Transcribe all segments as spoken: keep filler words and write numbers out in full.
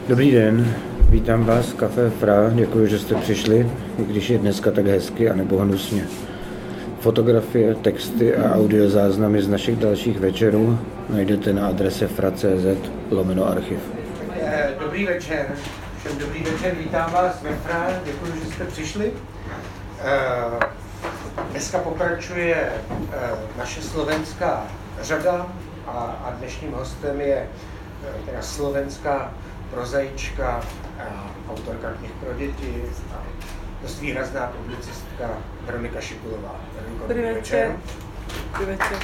Dobrý den, vítám vás v Café Fra, děkuji, že jste přišli, i když je dneska tak hezky a nebo hnusně. Fotografie, texty a audiozáznamy z našich dalších večerů najdete na adrese fra tečka cz lomeno archiv. Dobrý večer, všem dobrý večer, vítám vás ve Fra, děkuji, že jste přišli. Dneska pokračuje naše slovenská řada a dnešním hostem je teda slovenská prozaička, autorka knih pro děti a dost výrazná publicistka Veronika Šikulová. Dobrý večer. Dobrý večer.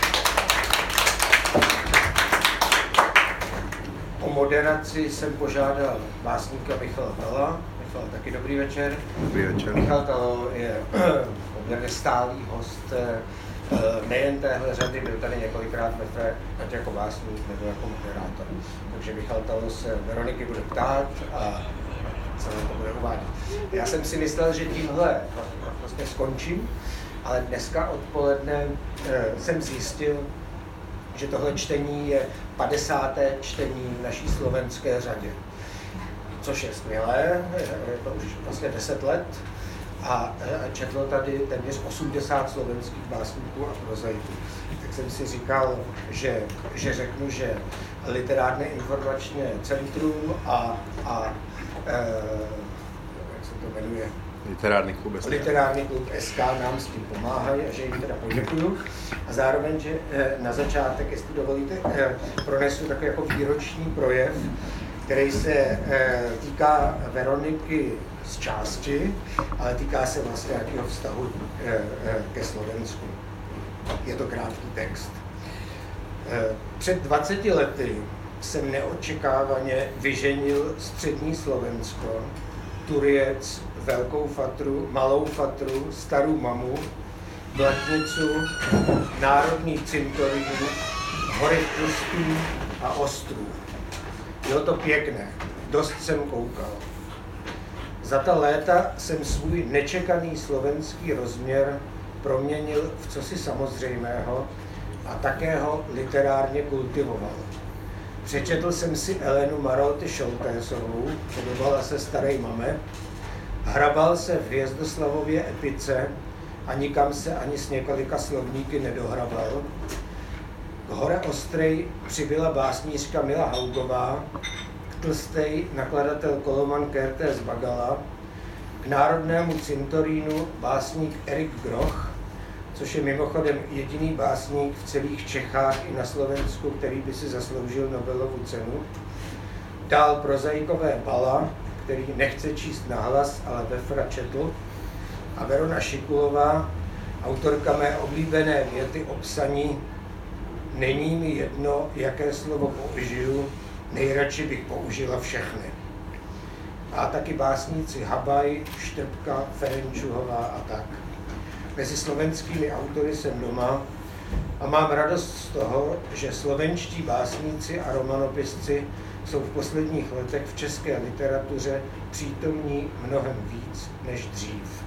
O moderaci jsem požádal básníka Michala Talla. Michal, taky dobrý večer. Dobrý večer. Michal Tall je poměrně stálý host nejen téhle řady, byl tady několikrát ve Fre, ať jako básník nebo jako moderátor. Takže Michal Tall se Veroniky bude ptát a celé to bude uvádět. Já jsem si myslel, že tímhle vlastně skončím, ale dneska odpoledne jsem zjistil, že tohle čtení je padesáté čtení v naší slovenské řadě. Což je skvělé, je to už vlastně deset let. A četlo tady téměř osmdesát slovenských básníků a prozaiků. Tak jsem si říkal, že, že řeknu, že Literární informační centrum a, a e, jak se to jmenuje? Literární klub S K. Literární klub S K nám s tím pomáhají a že jim teda poděkuju. A zároveň, že e, na začátek, jestli dovolíte, e, pronesu takový jako výroční projev, který se e, týká Veroniky z části, ale týká se vlastně nějakého vztahu e, e, ke Slovensku. Je to krátký text. E, před dvaceti lety jsem neočekávaně vyženil střední Slovensko, Turjec, Velkou Fatru, Malou Fatru, Starou Mamu, Blatnicu, Národní cintorín, Hory Tlustý a Ostrův. Bylo to pěkné, dost jsem koukal. Za ta léta jsem svůj nečekaný slovenský rozměr proměnil v cosi samozřejmého a také ho literárně kultivoval. Přečetl jsem si Elenu Marolty Šoltésovou, podobala se Starej mame, hrabal se v Hvězdoslavově epice a nikam se ani s několika slovníky nedohrabal. K Hore Ostrej přibyla básnířka Mila Haugová, k Tlstej nakladatel Koloman Kertész Bagala, k Národnému cintorínu básník Erik Groch, což je mimochodem jediný básník v celých Čechách i na Slovensku, který by si zasloužil Nobelovu cenu. Dál prozaikové Bala, který nechce číst nahlas, ale ve Fra četl. A Verona Šikulová, autorka mé oblíbené věty o psaní: není mi jedno, jaké slovo použiju, nejradši bych použila všechny. A taky básníci Habaj, Štrbka, Ferenčuhová a tak. Mezi slovenskými autory jsem doma a mám radost z toho, že slovenští básníci a romanopisci jsou v posledních letech v české literatuře přítomní mnohem víc než dřív.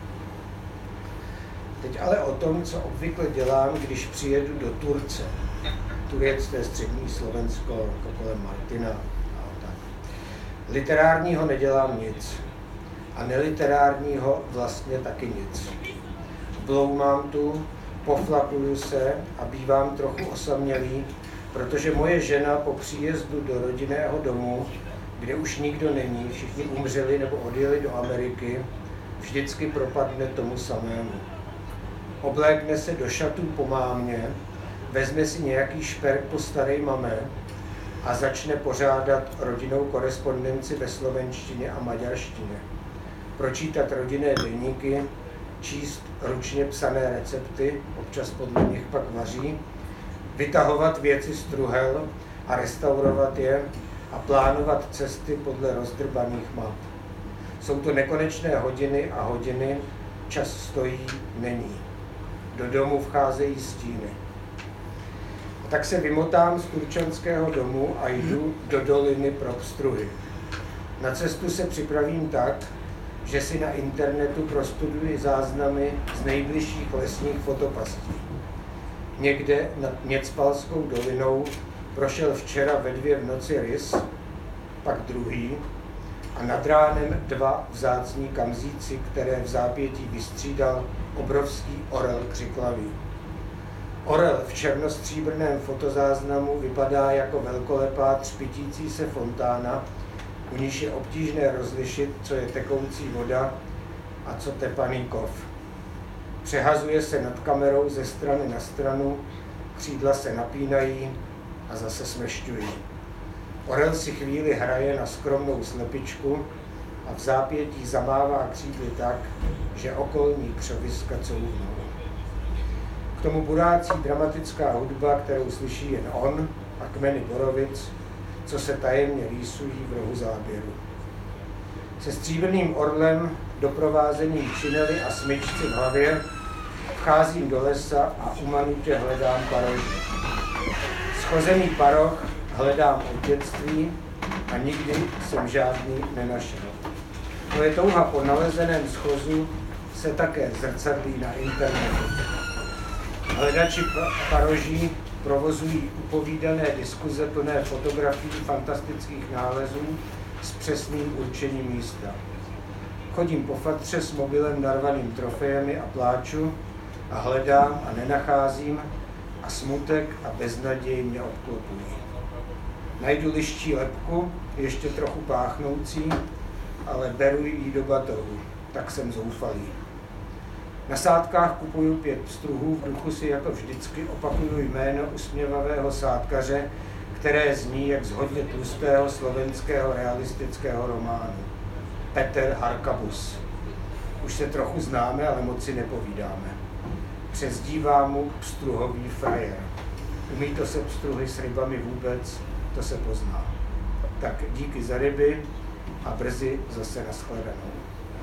Teď ale o tom, co obvykle dělám, když přijedu do Turce. Turec, to je střední Slovensko, jako kolem Martina a tak. Literárního nedělám nic. A neliterárního vlastně taky nic. Bloumám tu, poflakuju se a bývám trochu osamělý, protože moje žena po příjezdu do rodinného domu, kde už nikdo není, všichni umřeli nebo odjeli do Ameriky, vždycky propadne tomu samému. Oblékne se do šatů po mámě, vezme si nějaký šperk po Starej mame a začne pořádat rodinnou korespondenci ve slovenštině a maďarštině. Pročítat rodinné deníky, číst ručně psané recepty, občas podle nich pak vaří, vytahovat věci z truhel a restaurovat je a plánovat cesty podle rozdrbaných map. Jsou to nekonečné hodiny a hodiny, čas stojí, není. Do domu vcházejí stíny. A tak se vymotám z turčanského domu a jdu do doliny pro pstruhy. Na cestu se připravím tak, že si na internetu prostuduji záznamy z nejbližších lesních fotopastí. Někde nad Něcpalskou dolinou prošel včera ve dvě v noci rys, pak druhý, a nad ránem dva vzácní kamzíci, které v zápětí vystřídal obrovský orel křiklavý. Orel v černostříbrném fotozáznamu vypadá jako velkolepá třpitící se fontána, u níž je obtížné rozlišit, co je tekoucí voda a co tepaný kov. Přehazuje se nad kamerou ze strany na stranu, křídla se napínají a zase smršťují. Orel si chvíli hraje na skromnou slepičku a v zápětí zamává křídly tak, že okolní křoviska couvnou. K tomu burácí dramatická hudba, kterou slyší jen on a kmeny borovic, co se tajemně rýsují v rohu záběru. Se stříbrným orlem, doprovázením činely a smyčci v hlavě, vcházím do lesa a umanutě hledám paroží. Schozený paroh hledám od dětství a nikdy jsem žádný nenašel. Moje touha po nalezeném schozu se také zrcadlí na internetu. Hledači paroží provozují upovídané diskuze plné fotografií fantastických nálezů s přesným určením místa. Chodím po fatře s mobilem narvaným trofejemi a pláču a hledám a nenacházím a smutek a beznaděj mě obklopují. Najdu liščí lebku, ještě trochu páchnoucí, ale beru ji do batohu, tak jsem zoufalý. Na sádkách kupuju pět pstruhů, v duchu si jako vždycky opakuju jméno usměvavého sádkaře, které zní jak z hodně tlustého slovenského realistického románu. Peter Harkabus. Už se trochu známe, ale moc si nepovídáme. Přezdívám mu pstruhový frajer. Umí to se pstruhy s rybami vůbec, to se pozná. Tak díky za ryby a brzy zase nashledanou.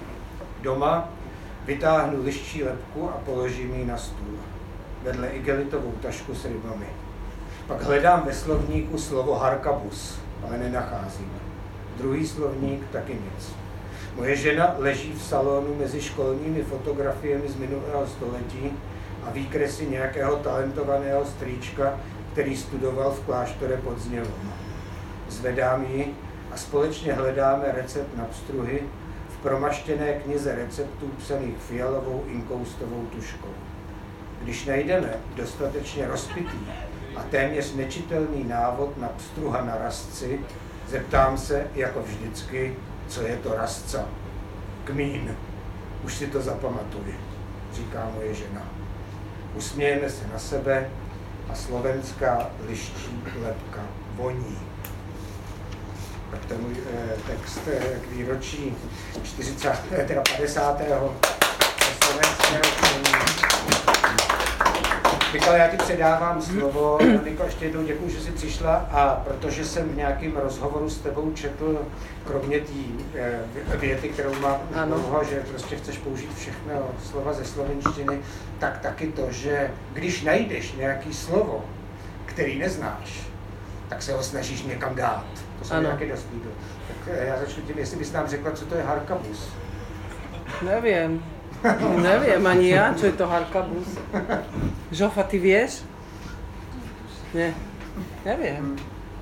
Doma vytáhnu liščí lebku a položím ji na stůl. Vedle igelitovou tašku s rybami. Pak hledám ve slovníku slovo Harkabus, ale nenacházím. Druhý slovník taky nic. Moje žena leží v salonu mezi školními fotografiemi z minulého století a výkresy nějakého talentovaného strýčka, který studoval v kláštore pod Znělom. Zvedám ji a společně hledáme recept na pstruhy v promaštěné knize receptů psaných fialovou inkoustovou tuškou. Když najdeme dostatečně rozpitý a téměř nečitelný návod na pstruha na rastci, zeptám se, jako vždycky, co je to rastca. Kmín. Už si to zapamatuj, říká moje žena. Usmějeme se na sebe a slovenská liščí lebka voní. Tak to je můj eh, text eh, k výročí čtyřicátého, teda padesátého slovenského kmínu. Mikal, já ti předávám slovo. Niko, ještě jednou děkuji, že jsi přišla a protože jsem v nějakém rozhovoru s tebou četl, kromě té věty, kterou mám dlouho, že prostě chceš použít všechno slova ze slovenštiny, tak taky to, že když najdeš nějaké slovo, který neznáš, tak se ho snažíš někam dát. To jsem nějaký dost líbil. Tak já začnu tím, jestli bys nám řekla, co to je Harkabus. Neviem. Neviem ani ja, čo je to Harkabus. Žofa, ty vieš? Nie. Neviem.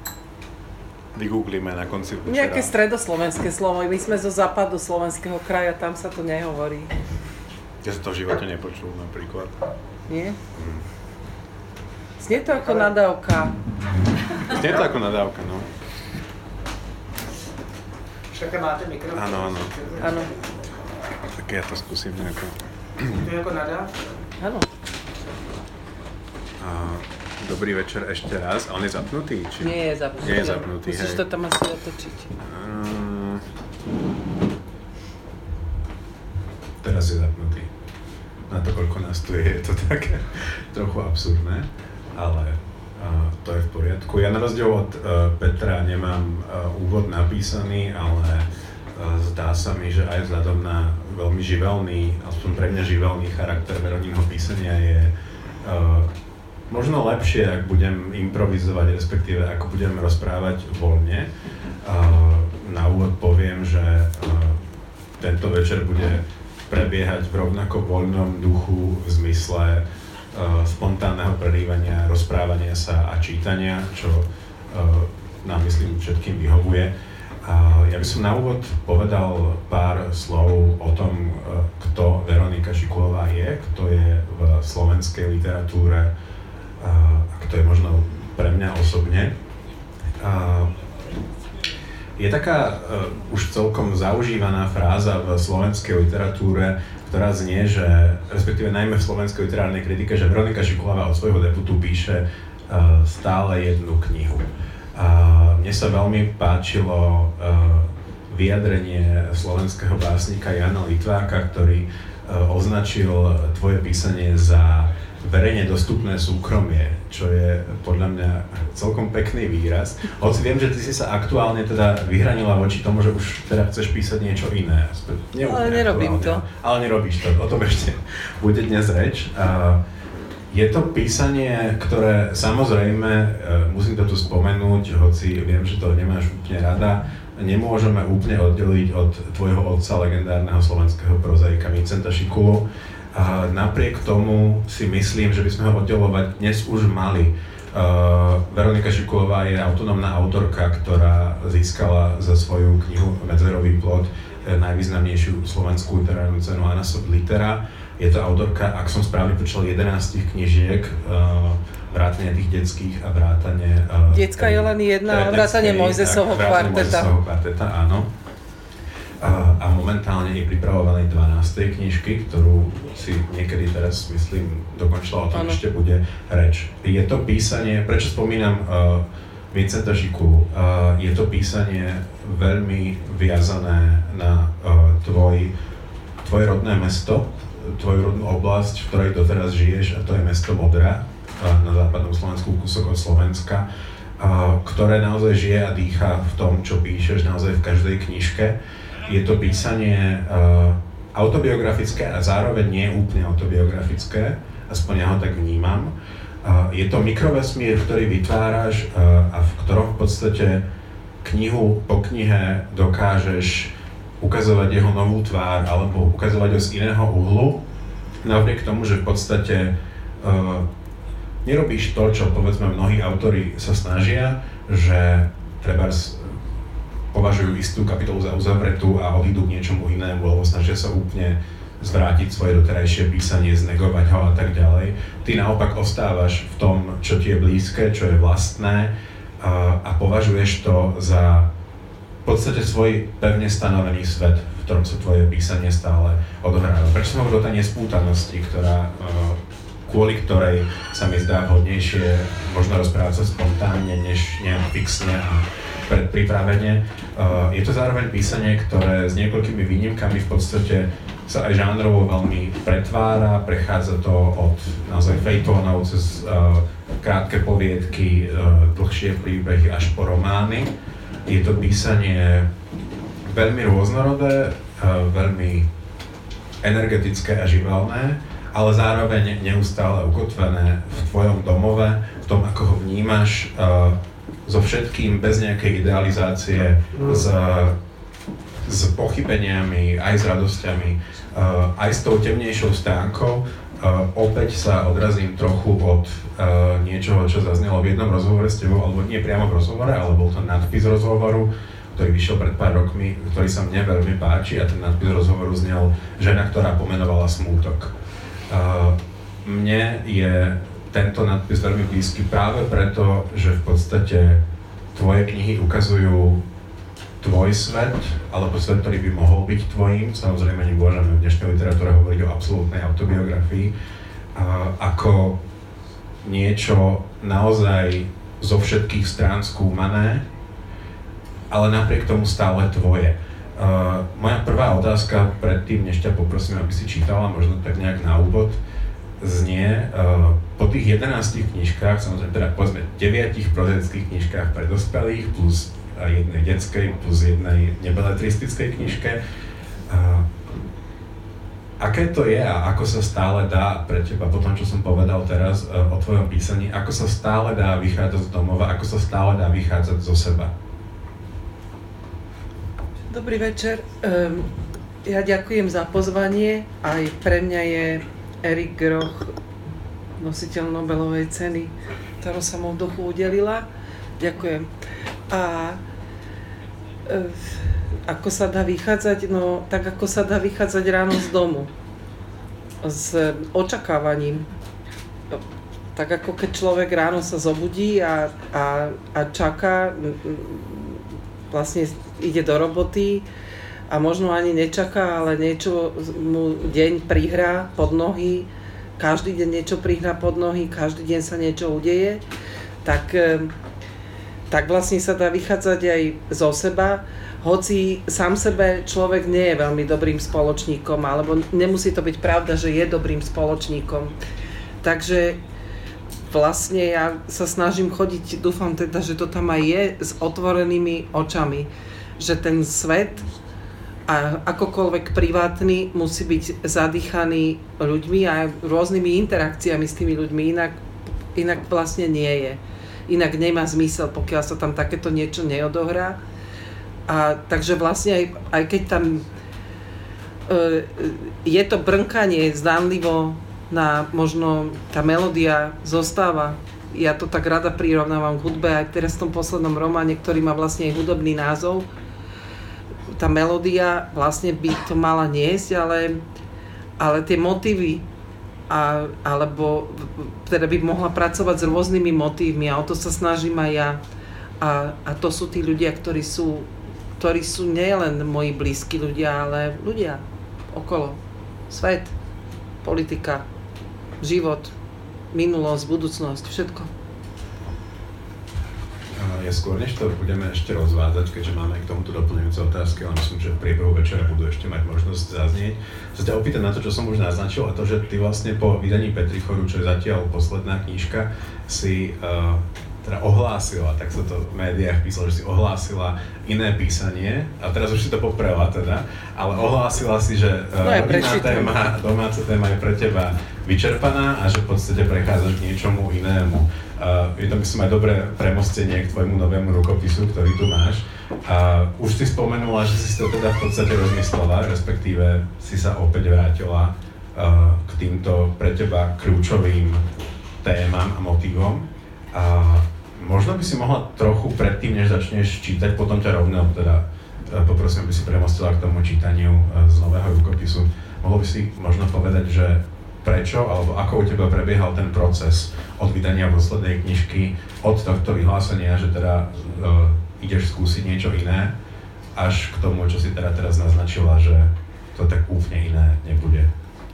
Vygooglíme na konci večera. Nejaké stredoslovenské slovo. My sme zo západu slovenského kraja, tam sa to nehovorí. Ja som to v živote nepočul napríklad. Nie? Hmm. Znie to ako nadávka. Znie to ako nadávka, no. Také máte mikrofon? Áno, áno. Áno. Tak ja to skúsim nejako. To je ako nadávka? Áno. Dobrý večer ešte raz. A on je zapnutý? Či... Nie je zapnutý. Nie je zapnutý, musíš hej. to tam asi otočiť. Uh, teraz je zapnutý. Na to, koľko nás tu je, je to také trochu absurdné, ale uh, to je v poriadku. Ja na rozdiel od uh, Petra nemám uh, úvod napísaný, ale uh, zdá sa mi, že aj vzhľadom na veľmi živelný, aspoň pre mňa živelný charakter Veronínho písania je uh, možno lepšie, ak budem improvizovať, respektíve ako budem rozprávať voľne. Uh, na úvod poviem, že uh, tento večer bude prebiehať v rovnako voľnom duchu v zmysle uh, spontánneho prerývania, rozprávania sa a čítania, čo uh, nám myslím všetkým vyhovuje. A ja by som na úvod povedal pár slov o tom, kto Veronika Šikulová je, kto je v slovenskej literatúre a kto je možno pre mňa osobne. A je taká uh, už celkom zaužívaná fráza v slovenskej literatúre, ktorá znie, že, respektíve najmä v slovenskej literárnej kritike, že Veronika Šikulová od svojho debutu píše uh, stále jednu knihu. Uh, mne sa veľmi páčilo uh, vyjadrenie slovenského básnika Jana Litváka, ktorý uh, označil tvoje písanie za verejne dostupné súkromie, čo je podľa mňa celkom pekný výraz. Hoci viem, že ty si sa aktuálne teda vyhranila voči tomu, že už teda chceš písať niečo iné. Ale nerobím to. Ale nerobíš to, o tom ešte bude dnes reč. Uh, Je to písanie, ktoré samozrejme, musím to tu spomenúť, hoci viem, že to nemáš úplne rada, nemôžeme úplne oddeliť od tvojho otca, legendárneho slovenského prozaika Vincenta Šikulu. A napriek tomu si myslím, že by sme ho oddelovať dnes už mali. Uh, Veronika Šikulová je autonómna autorka, ktorá získala za svoju knihu Medzerový plod najvýznamnejšiu slovenskú literárnu cenu Anna Soblitera. Je to autorka, ak som správne počul, jedenástich knižiek, uh, vrátane tých detských a vrátane... Uh, Detská je len jedna, vrátane Mojzesovho kvarteta. Mojzesovho kvarteta, áno. Uh, a momentálne je pripravovanej dvanástej knižky, ktorú si niekedy teraz, myslím, dokončila, o tom ano. Ešte bude reč. Je to písanie, prečo spomínam uh, Vincenta Šikulu, uh, je to písanie veľmi viazané na uh, tvoj, tvoje rodné mesto, tvoju rodnú oblasť, v ktorej doteraz žiješ, a to je mesto Modra na západnom Slovensku, kúsok od Slovenska, ktoré naozaj žije a dýcha v tom, čo píšeš naozaj v každej knižke. Je to písanie autobiografické a zároveň nie úplne autobiografické, aspoň ja ho tak vnímam. Je to mikrovesmír, ktorý vytváraš a v ktorom v podstate knihu po knihe dokážeš ukazovať jeho novú tvár alebo ukazovať ho z iného uhlu, napriek tomu, že v podstate uh, nerobíš to, čo povedzme mnohí autori sa snažia, že trebárs považujú istú kapitolu za uzavretú a odídu k niečomu inému, alebo snažia sa úplne zvrátiť svoje doterajšie písanie, znegovať ho a tak ďalej. Ty naopak ostávaš v tom, čo ti je blízke, čo je vlastné uh, a považuješ to za v podstate svoj pevne stanovený svet, v ktorom sa tvoje písanie stále odohráva. Prečo som hovoril o tej nespútanosti, ktorá, kvôli ktorej sa mi zdá vhodnejšie možno rozprávať sa spontánne, než nejak fixne a predpripravene. Je to zároveň písanie, ktoré s niekoľkými výnimkami v podstate sa aj žánrovo veľmi pretvára, prechádza to od naozaj fejtónov cez krátke poviedky, dlhšie príbehy až po romány. Je to písanie veľmi rôznorodé, veľmi energetické a živelné, ale zároveň neustále ukotvené v tvojom domove, v tom, ako ho vnímaš, so všetkým, bez nejakej idealizácie, s, s pochybeniami, aj s radosťami, aj s tou temnejšou stránkou. Uh, opäť sa odrazím trochu od uh, niečoho, čo zaznelo v jednom rozhovore s tebou, alebo nie priamo v rozhovore, ale bol to nadpis rozhovoru, ktorý vyšiel pred pár rokmi, ktorý sa mne veľmi páči, a ten nadpis rozhovoru znel Žena, ktorá pomenovala smútok. Uh, mne je tento nadpis veľmi blízky práve preto, že v podstate tvoje knihy ukazujú tvoj svet, alebo svet, ktorý by mohol byť tvojím. Samozrejme, nemôžeme v dnešnej literatúre hovoriť o absolútnej autobiografii, a ako niečo naozaj zo všetkých strán skúmané, ale napriek tomu stále tvoje. Uh, moja prvá otázka predtým, než ťa poprosím, aby si čítala, možno tak nejak na úvod, znie, uh, po tých jedenástich knižkách, samozrejme teda povedzme deviatich prozaických knižkách pre dospelých, plus a jednej detskej plus jednej nebeletristickej knižke. A aké to je a ako sa stále dá pre teba, po tom, čo som povedal teraz o tvojom písaní, ako sa stále dá vychádzať z domova, ako sa stále dá vychádzať zo seba? Dobrý večer. Um, ja ďakujem za pozvanie. Aj pre mňa je Erik Groch nositeľ Nobelovej ceny, ktorú sa mu v duchu udelila. Ďakujem. A Ako sa dá vychádzať? No, tak ako sa dá vychádzať ráno z domu. S očakávaním. Tak ako keď človek ráno sa zobudí a, a, a čaká, vlastne ide do roboty a možno ani nečaká, ale niečo mu deň prihrá pod nohy, každý deň niečo prihrá pod nohy, každý deň sa niečo udeje, tak, tak vlastne sa dá vychádzať aj zo seba, hoci sám sebe človek nie je veľmi dobrým spoločníkom, alebo nemusí to byť pravda, že je dobrým spoločníkom. Takže vlastne ja sa snažím chodiť, dúfam teda, že to tam aj je, s otvorenými očami, že ten svet a akokoľvek privátny musí byť zadýchaný ľuďmi a rôznymi interakciami s tými ľuďmi, inak, inak vlastne nie je. Inak nemá zmysel, pokiaľ sa tam takéto niečo neodohrá. A takže vlastne aj, aj keď tam e, je to brnkanie zdánlivo na možno tá melódia zostáva. Ja to tak rada prirovnávam k hudbe aj teraz v tom poslednom románe, ktorý má vlastne aj hudobný názov. Tá melódia vlastne by to mala niesť, ale, ale tie motívy a, alebo teda by mohla pracovať s rôznymi motívmi a o to sa snažím aj ja. A, a to sú tí ľudia, ktorí sú, ktorí sú nielen moji blízki ľudia, ale ľudia okolo. Svet, politika, život, minulosť, budúcnosť, všetko. Ja skôr, než to budeme ešte rozvádzať, keďže máme k tomuto doplňujúce otázky, ale myslím, že v priebehu večera budú ešte mať možnosť zaznieť, sa ťa opýtať na to, čo som už naznačil, a to, že ty vlastne po vydaní Petrichoru, čo je zatiaľ posledná knižka, si uh, teda ohlásila, tak sa to v médiách písalo, že si ohlásila iné písanie, a teraz už si to poprela teda, ale ohlásila si, že uh, no rodinná téma, domáca téma je pre teba vyčerpaná a že v podstate prechádzaš k niečomu inému. Uh, je to, myslím, aj dobré premostenie k tvojmu novému rukopisu, ktorý tu máš. Uh, už si spomenula, že si to teda v podstate rozmyslela, respektíve si sa opäť vrátila uh, k týmto pre teba kľúčovým témam a motívom. Uh, možno by si mohla trochu predtým, než začneš čítať, potom ťa rovno teda uh, poprosím, aby si premostila k tomu čítaniu uh, z nového rukopisu. Mohla by si možno povedať, že prečo, alebo ako u teba prebiehal ten proces od vydania poslednej knižky, od tohto vyhlásenia, že teda uh, ideš skúsiť niečo iné, až k tomu, čo si teda teraz naznačila, že to tak úplne iné nebude.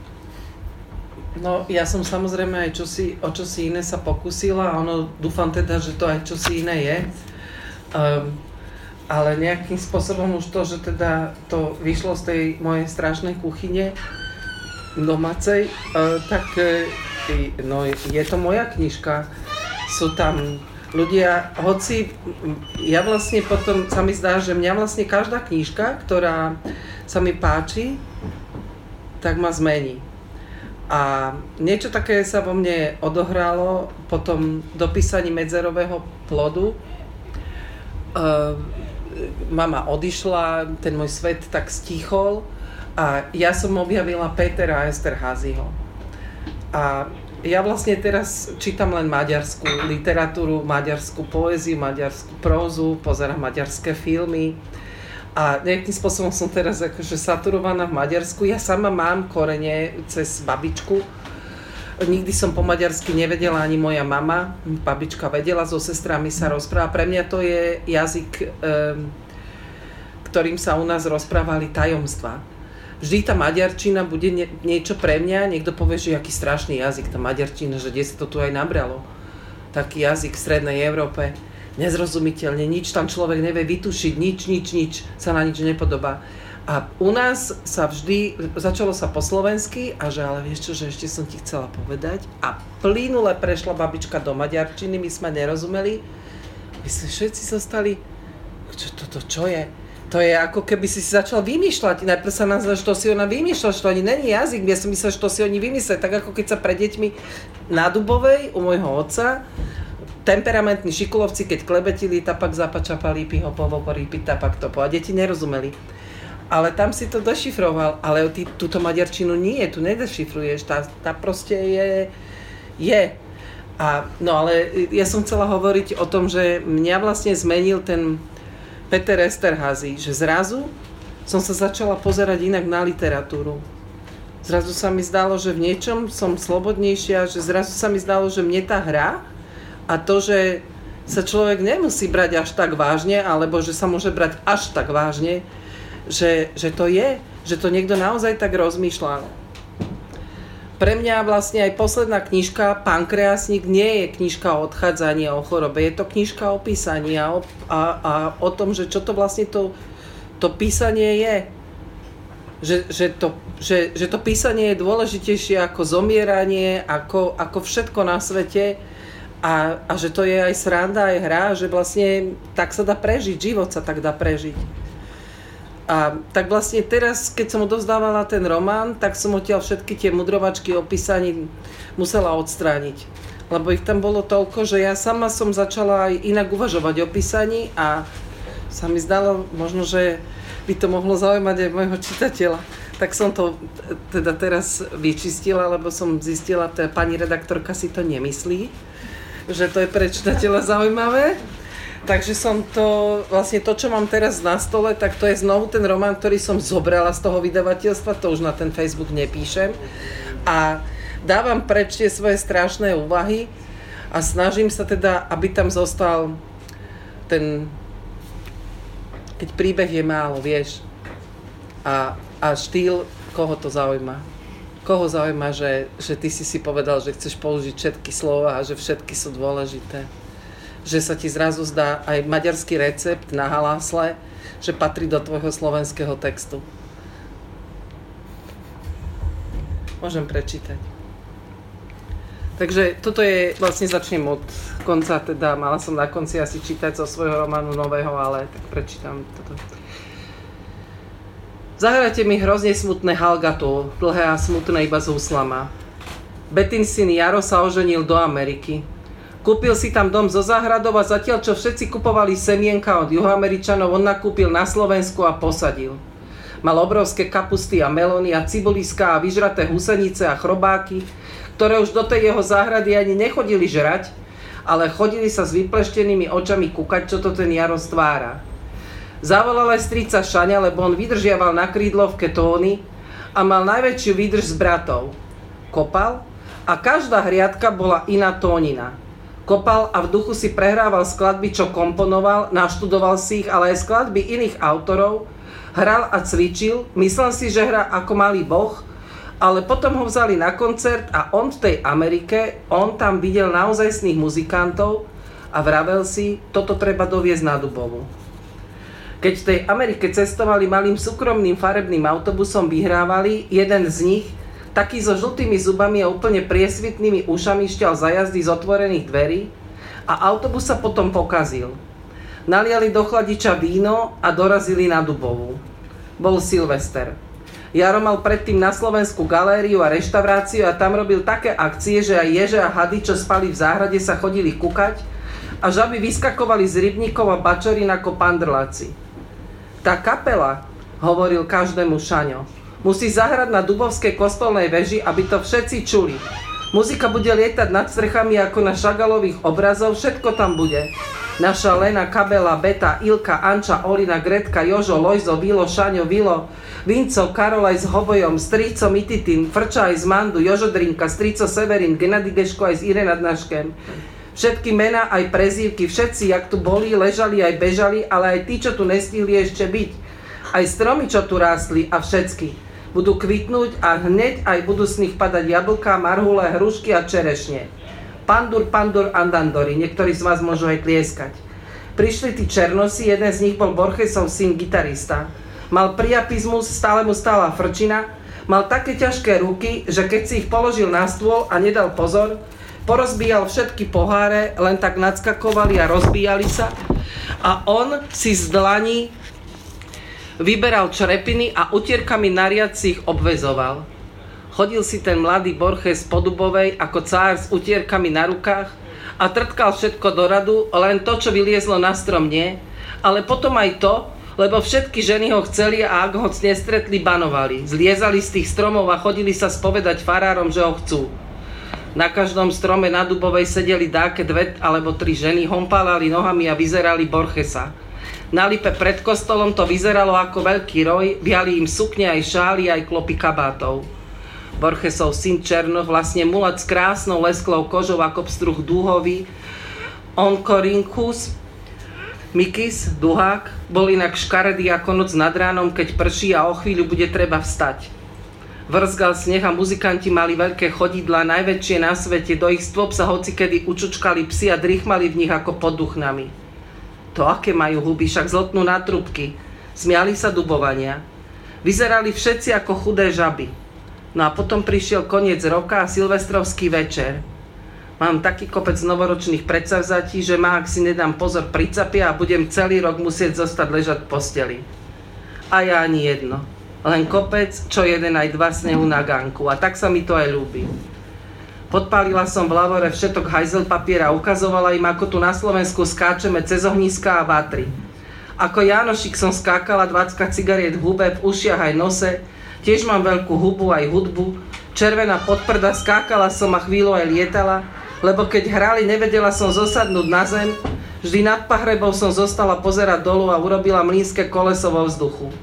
No, ja som samozrejme aj čosi, o čosi iné sa pokúsila a ono, dúfam teda, že to aj čosi iné je. Um, ale nejakým spôsobom už to, že teda to vyšlo z tej mojej strašnej kuchyne domácej, uh, tak uh, no, je to moja knižka. Sú tam ľudia, hoci ja vlastne potom sa mi zdá, že mňa vlastne každá knižka, ktorá sa mi páči, tak ma zmení. A niečo také sa vo mne odohralo po tom dopísaní Medzerového plodu. Uh, mama odišla, ten môj svet tak stíchol a ja som objavila Petera Esterházyho. A ja vlastne teraz čítam len maďarskú literatúru, maďarskú poéziu, maďarskú prózu, pozerám maďarské filmy. A nejakým spôsobom som teraz akože saturovaná v Maďarsku. Ja sama mám korene cez babičku. Nikdy som po maďarsky nevedela ani moja mama. Babička vedela, so sestrami sa rozpráva. Pre mňa to je jazyk, ktorým sa u nás rozprávali tajomstvá. Vždy tá maďarčina bude niečo pre mňa. Niekto povie, že aký strašný jazyk tá maďarčina, že kde sa to tu aj nabralo. Taký jazyk v strednej Európe. Nezrozumiteľne, nič tam človek nevie vytušiť, nič, nič, nič, sa na nič nepodobá. A u nás sa vždy, začalo sa po slovensky a že ale vieš čo, že ešte som ti chcela povedať a plynule prešla babička do maďarčiny, my sme nerozumeli, my sme všetci zostali, čo toto, čo je? To je ako keby si si začal vymýšľať, najprv sa nazval, že to si ona vymýšľa, že to ani není jazyk, ja som myslel, že to si oni vymysleli, tak ako keď sa pre deťmi na Dubovej u môjho otca temperamentní šikulovci, keď klebetili, tapak zapačapa lípi, hopovo, porípi, tapak topo. A deti nerozumeli. Ale tam si to dešifroval. Ale ty túto maďarčinu nie, tu nedešifruješ. Tá, tá proste je... je. A, no ale ja som chcela hovoriť o tom, že mňa vlastne zmenil ten Peter Esterházy, že zrazu som sa začala pozerať inak na literatúru. Zrazu sa mi zdalo, že v niečom som slobodnejšia, že zrazu sa mi zdalo, že mne tá hra a to, že sa človek nemusí brať až tak vážne, alebo že sa môže brať až tak vážne, že, že to je, že to niekto naozaj tak rozmýšľa. Pre mňa vlastne aj posledná knižka Pankreasník nie je knižka o odchádzaní a o chorobe, je to knižka o písaní a o, a, a o tom, že čo to vlastne to, to písanie je. Že, že, to, že, že to písanie je dôležitejšie ako zomieranie, ako, ako všetko na svete a, a že to je aj sranda, aj hra, že vlastne tak sa dá prežiť, život sa tak dá prežiť. A tak vlastne teraz, keď som odovzdávala ten román, tak som odtiaľ všetky tie mudrovačky o písaní musela odstrániť. Lebo ich tam bolo toľko, že ja sama som začala aj inak uvažovať o písaní a sa mi zdalo možno, že by to mohlo zaujímať aj môjho čitateľa. Tak som to teda teraz vyčistila, lebo som zistila, že pani redaktorka si to nemyslí, že to je pre čitateľa zaujímavé. Takže som to, vlastne to, čo mám teraz na stole, tak to je znovu ten román, ktorý som zobrala z toho vydavateľstva, to už na ten Facebook nepíšem. A dávam preč tie svoje strašné úvahy a snažím sa teda, aby tam zostal ten... Keď príbeh je málo, vieš. A, a štýl, koho to zaujíma? Koho zaujíma, že, že ty si si povedal, že chceš použiť všetky slova a že všetky sú dôležité? Že sa ti zrazu zdá aj maďarský recept na halásle, že patrí do tvojho slovenského textu. Môžem prečítať. Takže toto je, vlastne začnem od konca, teda mala som na konci asi čítať zo svojho románu nového, ale tak prečítam toto. Zahrajte mi hrozne smutné Halgato, dlhé a smutné iba z úslama. Betin syn Jaro sa oženil do Ameriky. Kúpil si tam dom so záhradou a zatiaľ, čo všetci kupovali semienka od Juhoameričanov, on nakúpil na Slovensku a posadil. Mal obrovské kapusty a melóny a cibuliská a vyžraté husenice a chrobáky, ktoré už do tej jeho záhrady ani nechodili žrať, ale chodili sa s vypleštenými očami kúkať, čo to ten Jaro stvára. Zavolal aj strica Šaňa, lebo on vydržiaval na krídlovke tóny a mal najväčšiu výdrž s bratov. Kopal a každá hriadka bola iná tónina. Kopal a v duchu si prehrával skladby, čo komponoval, naštudoval si ich, ale aj skladby iných autorov, hral a cvičil, myslel si, že hrá ako malý boh, ale potom ho vzali na koncert a on v tej Amerike, on tam videl naozajstných muzikantov a vravel si, toto treba doviezť na Dubovú. Keď v tej Amerike cestovali malým súkromným farebným autobusom, vyhrávali, jeden z nich, taký so žltými zubami a úplne priesvitnými ušami, šťal za jazdy z otvorených dverí a autobus sa potom pokazil. Naliali do chladiča víno a dorazili na Dubovú. Bol Silvester. Jaro mal predtým na Slovensku galériu a reštauráciu a tam robil také akcie, že aj ježe a hady, čo spali v záhrade, sa chodili kúkať a žaby vyskakovali z rybníkov a bačorín ako pandrláci. Tá kapela, hovoril každému Šaňo, musí zahrať na Dubovskej kostolnej veži, aby to všetci čuli. Muzika bude lietať nad strechami ako na Šagalových obrazov, všetko tam bude. Naša Lena, Kabela, Beta, Ilka, Anča, Olina, Gretka, Jožo, Lojzo, Vilo, Šaňo, Vilo, Vinco, Karol aj s Hovojom, Strico, Mititin, Frča aj z Mandu, Jožo Drinka, Strico Severin, Gennady Geško aj s Irenadnaškem. Všetky mená aj prezývky, všetci, jak tu boli, ležali aj bežali, ale aj tí, čo tu nestihli ešte byť. Aj stromy, čo tu rástli a všetky. Budú kvitnúť a hneď aj budú z nich padať jablká, marhule, hrušky a čerešne. Pandur, pandur, andandori, niektorí z vás môžu aj tlieskať. Prišli tí černosi, jeden z nich bol Borgesov syn, gitarista. Mal priapizmus, stále mu stála frčina, mal také ťažké ruky, že keď si ich položil na stôl a nedal pozor, porozbíjal všetky poháre, len tak nadskakovali a rozbíjali sa a on si z dlaní vyberal črepiny a utierkami nariad si ich obvezoval. Chodil si ten mladý Borges po Dubovej ako cár s utierkami na rukách a trtkal všetko do radu, len to, čo vyliezlo na strom nie, ale potom aj to, lebo všetky ženy ho chceli a ak ho nestretli, banovali. Zliezali z tých stromov a chodili sa spovedať farárom, že ho chcú. Na každom strome na Dubovej sedeli dáke dve alebo tri ženy, hompálali nohami a vyzerali Borgesa. Na lipe pred kostolom to vyzeralo ako veľký roj, viali im sukne aj šály, aj klopy kabátov. Borgesov syn Černoch, vlastne mulat s krásnou lesklou kožou ako pstruh dúhový, Onkorynchus Mikis, duhák, bol inak škaredý ako noc nad ránom, keď prší a o chvíľu bude treba vstať. Vrzgal sneh a muzikanti mali veľké chodidlá, najväčšie na svete, do ich stôp sa hocikedy učučkali psi a drichmali v nich ako pod duchnami. To aké majú huby, však zlotnú na trúbky. Smiali sa dubovania. Vyzerali všetci ako chudé žaby. No a potom prišiel koniec roka a silvestrovský večer. Mám taký kopec novoročných predsavzatí, že ma, ak si nedám pozor, pricapia a budem celý rok musieť zostať ležať v posteli. A ja ani jedno. Len kopec, čo jeden aj dva snehu na ganku. A tak sa mi to aj ľúbi. Podpálila som v lavore všetok hajzel papiera a ukazovala im, ako tu na Slovensku skáčeme cez ohniská a vatry. Ako Jánošik som skákala dvadsať cigariet v hube, v ušiach aj nose, tiež mám veľkú hubu aj hudbu, červená podprda, skákala som a chvíľu aj lietala, lebo keď hrali, nevedela som zosadnúť na zem, vždy nad pahrebou som zostala pozerať dolu a urobila mlynské koleso vo vzduchu.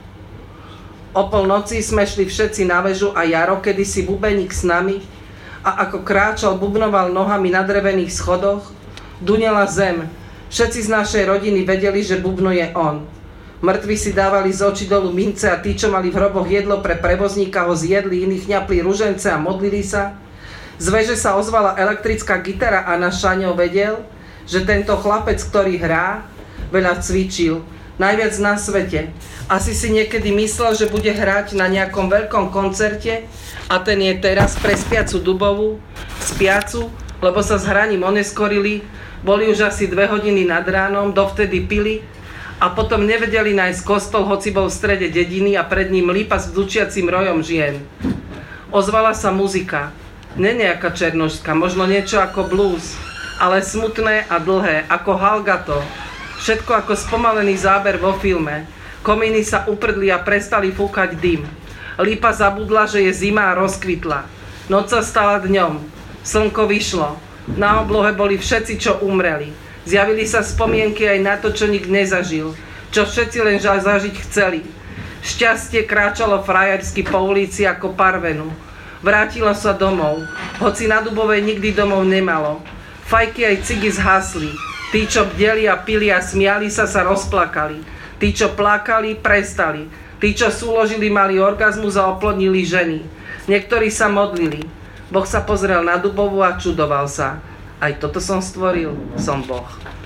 O polnoci sme šli všetci na väžu a Jaro, kedysi bubeník s nami, a ako kráčal, bubnoval nohami na drevených schodoch, dunela zem. Všetci z našej rodiny vedeli, že bubno je on. Mŕtvi si dávali z očí dolu mince a tí, čo mali v hroboch jedlo pre prevozníka, ho zjedli, iní chňapli ružence a modlili sa. Z veže sa ozvala elektrická gitara a náš Šaňo vedel, že tento chlapec, ktorý hrá, veľa cvičil, najviac na svete. Asi si niekedy myslel, že bude hrať na nejakom veľkom koncerte, a ten je teraz pre spiacu Dubovú, spiacu, lebo sa s hraním oneskorili, boli už asi dve hodiny nad ránom, dovtedy pili a potom nevedeli nájsť kostol, hoci bol v strede dediny a pred ním lípa s vdučiacim rojom žien. Ozvala sa muzika, ne nejaká černošská, možno niečo ako blues, ale smutné a dlhé, ako halgato, všetko ako spomalený záber vo filme. Komíny sa uprdli a prestali fúkať dym. Lípa zabudla, že je zima a rozkvitla. Noc sa stala dňom. Slnko vyšlo. Na oblohe boli všetci, čo umreli. Zjavili sa spomienky aj na to, čo nik nezažil. Čo všetci len zažiť chceli. Šťastie kráčalo frajersky po ulici ako parvenu. Vrátilo sa domov. Hoci na Dubovej nikdy domov nemalo. Fajky aj cigy zhasli. Tí, čo bdeli a pili a smiali sa, sa rozplakali. Tí, čo plakali, prestali. Tí, čo súložili, mali orgazmus a oplodnili ženy. Niektorí sa modlili. Boh sa pozrel na Dubovú a čudoval sa. Aj toto som stvoril, som Boh.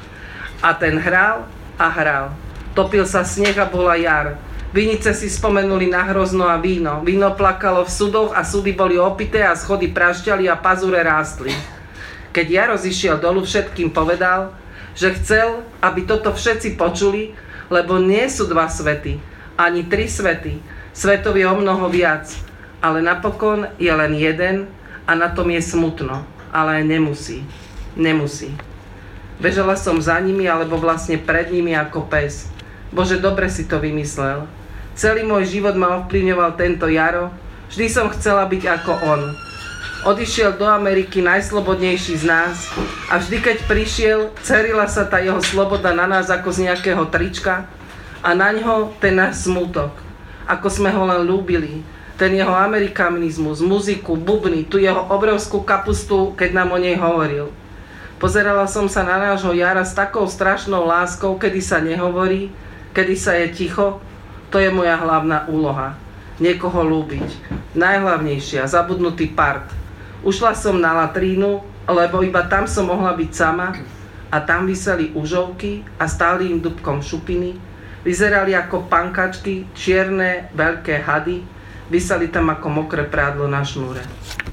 A ten hral a hral. Topil sa sneh a bola jar. Vinice si spomenuli na hrozno a víno. Víno plakalo v sudoch a sudy boli opité a schody prašťali a pazúre rástli. Keď Jaro zišiel dolu, všetkým povedal, že chcel, aby toto všetci počuli, lebo nie sú dva svety. Ani tri svety. Svetov je o mnoho viac. Ale napokon je len jeden a na tom je smutno. Ale nemusí. Nemusí. Bežala som za nimi, alebo vlastne pred nimi ako pes. Bože, dobre si to vymyslel. Celý môj život ma ovplyvňoval tento Jaro. Vždy som chcela byť ako on. Odišiel do Ameriky najslobodnejší z nás a vždy, keď prišiel, cerila sa tá jeho sloboda na nás ako z nejakého trička, a naňho ten náš smútok, ako sme ho len ľúbili, ten jeho amerikanizmus, muziku, bubny, tu jeho obrovskú kapustu, keď nám o nej hovoril. Pozerala som sa na nášho Jara s takou strašnou láskou, kedy sa nehovorí, kedy sa je ticho, to je moja hlavná úloha. Niekoho ľúbiť. Najhlavnejšia, zabudnutý part. Ušla som na latrínu, lebo iba tam som mohla byť sama a tam viseli užovky a stáli im dubkom šupiny. Vyzerali ako pankačky, čierne, veľké hady. Viseli tam ako mokré prádlo na šnúre.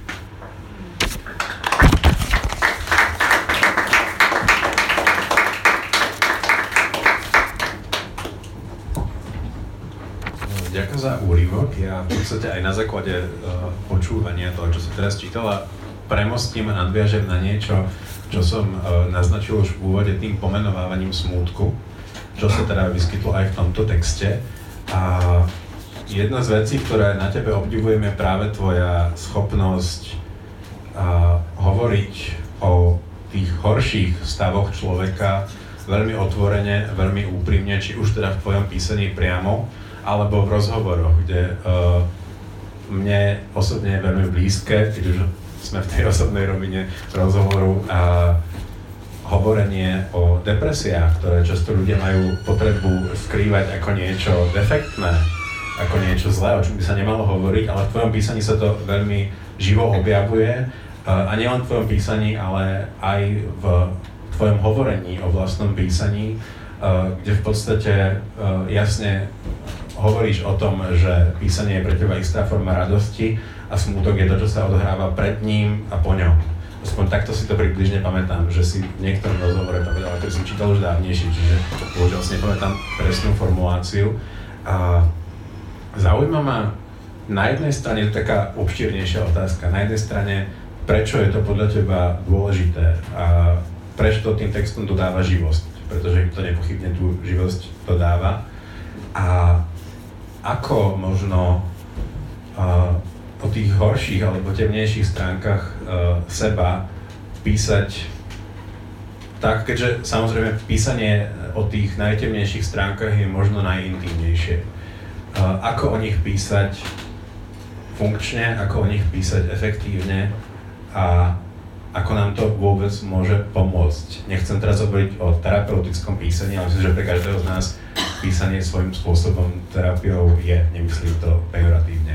Ďakujem za úryvok. Ja v podstate aj na základe uh, počúvania toho, čo som teraz čítala, premostím a nadviažem na niečo, čo som uh, naznačil už v úvode tým pomenovávaním smútku, čo sa teda vyskytlo aj v tomto texte. A jedna z vecí, ktoré na tebe obdivujem, je práve tvoja schopnosť uh, hovoriť o tých horších stavoch človeka veľmi otvorene, veľmi úprimne, či už teda v tvojom písaní priamo, alebo v rozhovoroch, kde uh, mne osobne je veľmi blízke, keď už sme v tej osobnej rovine rozhovoru a hovorenie o depresiách, ktoré často ľudia majú potrebu skrývať ako niečo defektné, ako niečo zlé, o čom by sa nemalo hovoriť, ale v tvojom písaní sa to veľmi živo objavuje. A nielen v tvojom písaní, ale aj v tvojom hovorení o vlastnom písaní, kde v podstate jasne hovoríš o tom, že písanie je pre teba istá forma radosti a smútok je to, čo sa odohráva pred ním a po ňom. Aspoň takto si to približne pamätám, že si v niektorom rozhovore povedal, ktorý som čítal už dávnejšie, čiže bohužiaľ si nepamätám presnú formuláciu. A zaujíma ma na jednej strane, je to taká obšírnejšia otázka, na jednej strane, prečo je to podľa teba dôležité a prečo to tým textom dodáva živosť, pretože im to nepochybne tú živosť dodáva. A ako možno uh, o tých horších alebo temnejších stránkach uh, seba písať tak, keďže samozrejme písanie o tých najtemnejších stránkach je možno najintímnejšie. Uh, ako o nich písať funkčne, ako o nich písať efektívne a ako nám to vôbec môže pomôcť. Nechcem teraz hovoriť o terapeutickom písaní, ale myslím, že pre každého z nás písanie svojím spôsobom terapiou je, nemyslím to pejoratívne.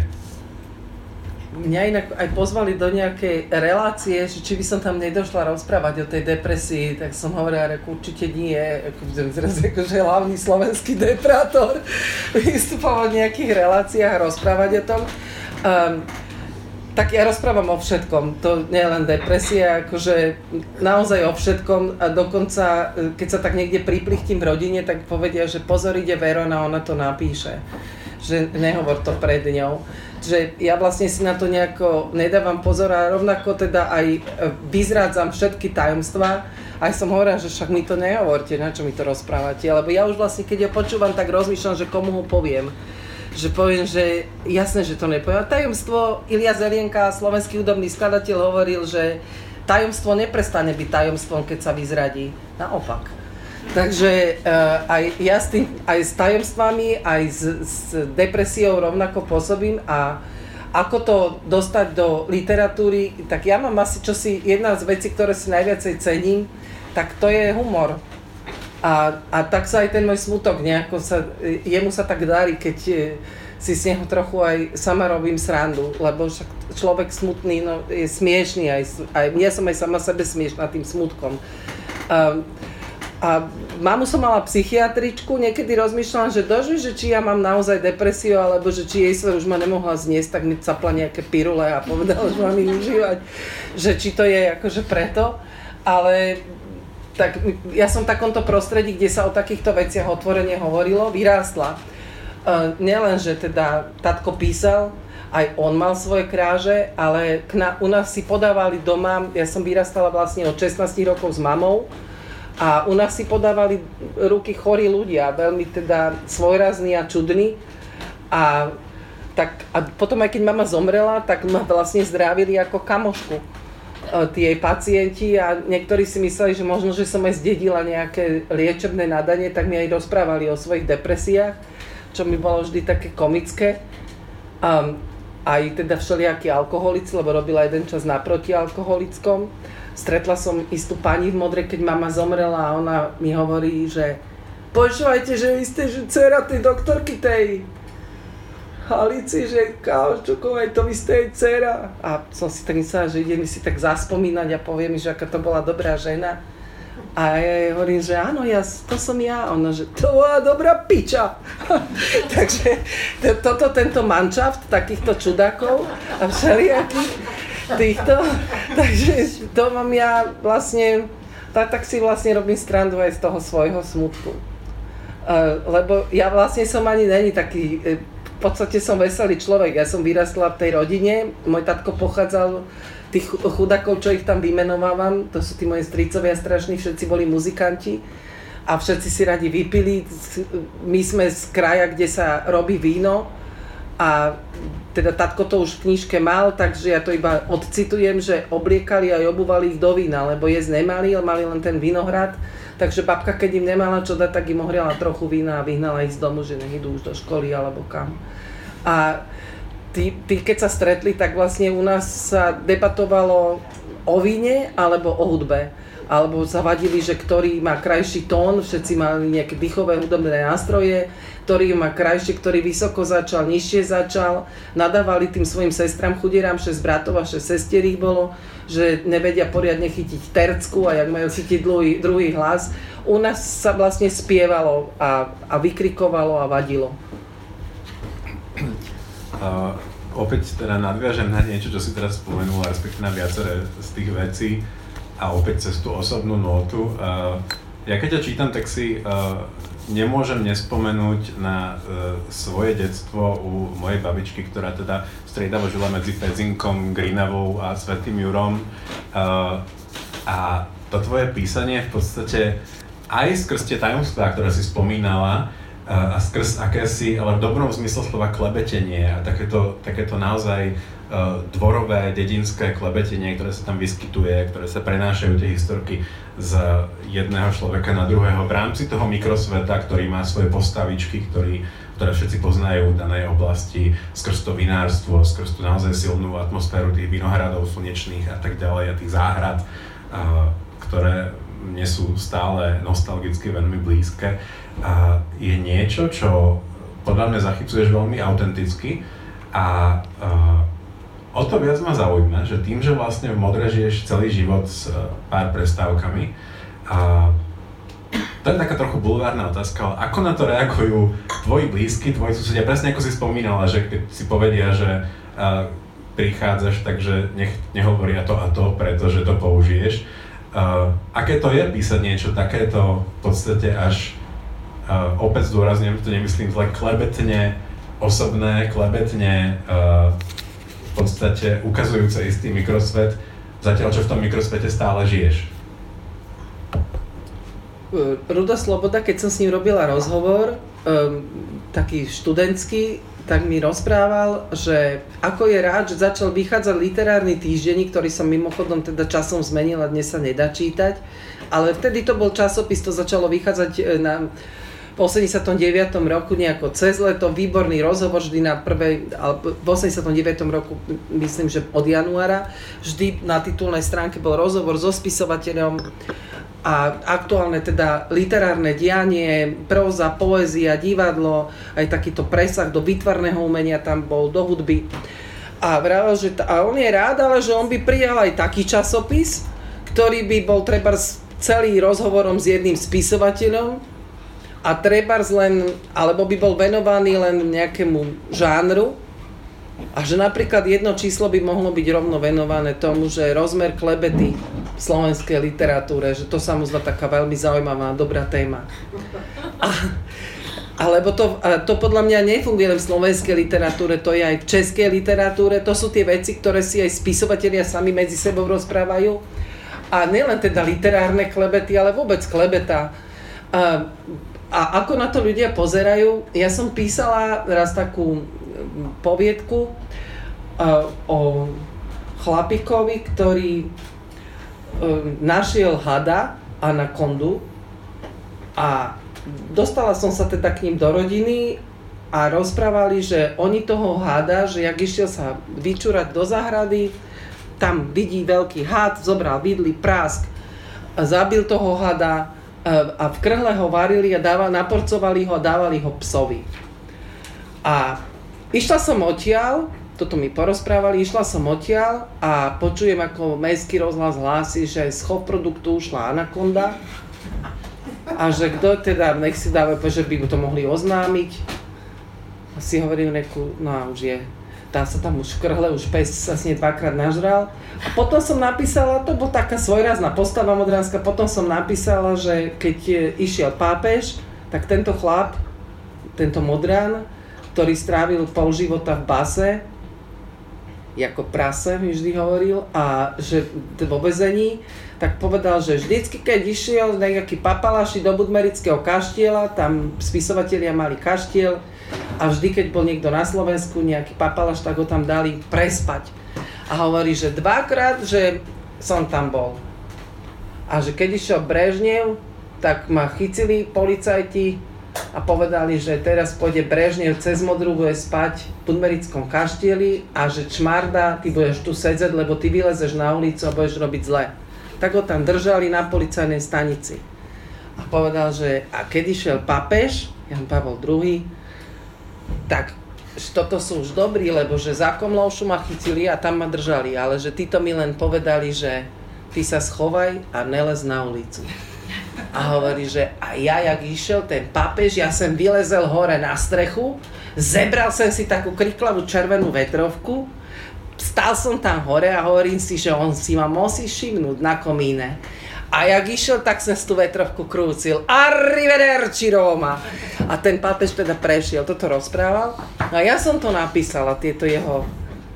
Mňa inak aj pozvali do nejakej relácie, že či by som tam nedošla rozprávať o tej depresii, tak som hovorila, že určite nie, ako, zrazu akože hlavný slovenský deprátor vystupoval v nejakých reláciách a rozprávať o tom. Um, tak ja rozprávam o všetkom, to nie je len depresia, akože naozaj o všetkom a dokonca, keď sa tak niekde priplichtím v rodine, tak povedia, že pozor, ide Verona, ona to napíše, že nehovor to pred ňou. Že ja vlastne si na to nejako nedávam pozor a rovnako teda aj vyzrádzam všetky tajomstvá. Aj som hovorila, že však mi to nehovorte, na čo mi to rozprávate, lebo ja už vlastne, keď ho počúvam, tak rozmýšľam, že komu ho poviem. Že poviem, že jasné, že to nepoviem. Tajomstvo, Ilia Zelienka, slovenský hudobný skladateľ, hovoril, že tajomstvo neprestane byť tajomstvom, keď sa vyzradí. Naopak. Takže uh, aj ja s, tým, aj s tajomstvami, aj s, s depresiou rovnako pôsobím a ako to dostať do literatúry, tak ja mám asi čosi, jedna z vecí, ktoré si najviacej cením, tak to je humor. A, a tak sa aj ten môj smutok nejako sa, jemu sa tak darí, keď si z neho trochu aj sama robím srandu, lebo však človek smutný no, je smiešný, aj, aj ja som aj sama sebe smiešná tým smutkom. Um, A mamu som mala psychiatričku, niekedy rozmýšľam, že doži, že či ja mám naozaj depresiu, alebo že či jej sa už ma nemohla zniesť, tak mi capla nejaké pirule a povedala, že mám ich užívať, že či to je akože preto, ale tak ja som v takomto prostredí, kde sa o takýchto veciach otvorene hovorilo, vyrástla. Uh, nielen, že teda tatko písal, aj on mal svoje kráže, ale na, u nás si podávali doma, ja som vyrastala vlastne od šestnásť rokov s mamou, a u nás si podávali ruky chorí ľudia, veľmi teda svojrazní a čudní. A, tak, a potom aj keď mama zomrela, tak ma vlastne zdravili ako kamošku tí jej pacienti a niektorí si mysleli, že možno, že som aj zdedila nejaké liečebné nadanie, tak mi aj rozprávali o svojich depresiách, čo mi bolo vždy také komické. Um, aj teda všelijakí alkoholici, lebo robila jeden čas na protialkoholickom. Stretla som istú pani v Modrej, keď mama zomrela a ona mi hovorí, že počúvajte, že vy ste že dcera tej doktorky tej Halici, že Káočukovej, to vy ste jej dcera. A som si tak myslela, že ide mi si tak zaspomínať a povie mi, že aká to bola dobrá žena. A ja jej hovorím, že áno, ja, to som ja. Ona, že to bola dobrá piča. Takže to, toto, tento manšaft takýchto čudákov a všelijakých týchto, takže to mám ja vlastne, tak, tak si vlastne robím srandu aj z toho svojho smutku. Uh, lebo ja vlastne som ani není taký, v podstate som veselý človek, ja som vyrastla v tej rodine, môj tatko pochádzal, tých chudákov, čo ich tam vymenovávam, to sú tí moji strýcovia strašní, všetci boli muzikanti a všetci si radi vypili, my sme z kraja, kde sa robí víno a teda tatko to už v knižke mal, takže ja to iba odcitujem, že obliekali a obúvali ich do vína, lebo jesť nemali, ale mali len ten vinohrad, Takže babka, keď im nemala čo dať, tak im ohriala trochu vína a vyhnala ich z domu, že nech idú už do školy alebo kam. A tí, tí keď sa stretli, tak vlastne u nás sa debatovalo o víne alebo o hudbe. Alebo sa vadili, že ktorý má krajší tón, všetci mali nejaké dýchové hudobné nástroje, ktorý má krajšie, ktorý vysoko začal, nižšie začal. Nadávali tým svojim sestram chudierám, šesť bratov a šesť sestier ich bolo, že nevedia poriadne chytiť tercku a jak majú chytiť druhý, druhý hlas. U nás sa vlastne spievalo a, a vykrikovalo a vadilo. Uh, opäť teda nadviažem na niečo, čo si teraz spomenula, respektíve na viaceré z tých vecí. A opäť cez tú osobnú nótu. Uh, ja keď ťa čítam, tak si uh, nemôžem nespomenúť na uh, svoje detstvo u mojej babičky, ktorá teda striedavo žila medzi Pezinkom, Grinavou a Svätým Jurom. Uh, a to tvoje písanie v podstate aj skrz tie tajomstvá, ktoré si spomínala, uh, a skrz akési, ale v dobrom zmysle slova klebetenie a takéto, takéto naozaj dvorové, dedinské klebetenie, ktoré sa tam vyskytuje, ktoré sa prenášajú tie historky z jedného človeka na druhého v rámci toho mikrosveta, ktorý má svoje postavičky, ktorý, ktoré všetci poznajú v danej oblasti, skrz to vinárstvo, skrz tú naozaj silnú atmosféru tých vinohradov slnečných a tak ďalej a tých záhrad, ktoré mne sú stále nostalgicky veľmi blízke. Je niečo, čo podľa mňa zachycuješ veľmi autenticky a o to viac ma zaujíma, že tým, že vlastne v Modre žiješ celý život s pár prestávkami a to je taká trochu bulvárna otázka, ale ako na to reagujú tvoji blízky, tvoji susedia? Presne ako si spomínala, že keď si povedia, že uh, prichádzaš, takže nech nehovoria to a to, pretože to použiješ. Uh, aké to je písať niečo takéto v podstate až, uh, opäť zdôrazňujem, to nemyslím zle, klebetne, osobné, klebetne, uh, v podstate ukazujúce istý mikrosvet, zatiaľ čo v tom mikrosvete stále žiješ. Rudo Sloboda, keď som s ním robila rozhovor, um, taký študentský, tak mi rozprával, že ako je rád, že začal vychádzať literárny týždenník, ktorý som mimochodom teda časom zmenil a dnes sa nedá čítať, ale vtedy to bol časopis, to začalo vychádzať na v osemdesiatom deviatom roku nejako cez leto, výborný rozhovor vždy na prvej, ale v osemdesiatom deviatom roku, myslím, že od januára, vždy na titulnej stránke bol rozhovor so spisovateľom a aktuálne teda literárne dianie, próza, poézia, divadlo, aj takýto presah do výtvarného umenia tam bol, do hudby. A vravel, že t- a on je rád, ale že on by prijal aj taký časopis, ktorý by bol trebárs celý rozhovorom s jedným spisovateľom, a trebárs len, alebo by bol venovaný len nejakému žánru a že napríklad jedno číslo by mohlo byť rovno venované tomu, že rozmer klebety v slovenskej literatúre, že to sa mu zdá taká veľmi zaujímavá, dobrá téma. A, alebo to, to podľa mňa nefunguje len v slovenskej literatúre, to je aj v českej literatúre, to sú tie veci, ktoré si aj spisovatelia sami medzi sebou rozprávajú. A nielen teda literárne klebety, ale vôbec klebeta. A, A ako na to ľudia pozerajú? Ja som písala raz takú poviedku uh, o chlapíkovi, ktorý uh, našiel hada, anakondu, a dostala som sa teda k ním do rodiny a rozprávali, že oni toho hada, že jak išiel sa vyčúrať do záhrady, tam vidí veľký had, zobral vidly, prásk, zabil toho hada, a v krhle ho varili a dávali, naporcovali ho a dávali ho psovi. A išla som odtiaľ, toto mi porozprávali, išla som odtiaľ a počujem, ako mestský rozhlas hlási, že z chov produktu ušla anakonda a že kto teda, nech si dáva, že by to mohli oznámiť. A si hovorím, reku, no a už je, dá sa tam už v krhle, už pes sa s nej dvakrát nažral. A potom som napísala, to bola taká svojrázna postava modránska, potom som napísala, že keď išiel pápež, tak tento chlap, tento modrán, ktorý strávil pol života v base, ako prase mi vždy hovoril, a že vo väzení, tak povedal, že vždycky, keď išiel nejaký papalaši do Budmerického kaštieľa, tam spisovatelia mali kaštiel, a vždy, keď bol niekto na Slovensku, nejaký papalaš, tak ho tam dali prespať. A hovorí, že dvakrát, že som tam bol. A že keď išiel Brežnev, tak ma chytili policajti a povedali, že teraz pôjde Brežnev cez Modru, bude spať v Budmerickom kaštieli a že čmarda, ty budeš tu sedieť, lebo ty vylezeš na ulicu a budeš robiť zle. Tak ho tam držali na policajnej stanici. A povedal, že a keď išiel pápež, Jan Pavel druhý, tak toto sú už dobrí, lebo že za Komlóšu ma chytili a tam ma držali, ale že títo mi len povedali, že ty sa schovaj a nelez na ulicu. A hovorí, že a ja, jak išiel ten pápež, ja som vylezel hore na strechu, zebral som si takú kriklavú červenú vetrovku, stál som tam hore a hovorím si, že on si ma musí všimnúť na komíne. A jak išiel, tak som si tú vetrovku krúcil. Arrivederci Roma! A ten pápež teda prešiel, toto rozprával. A ja som to napísala, tieto jeho...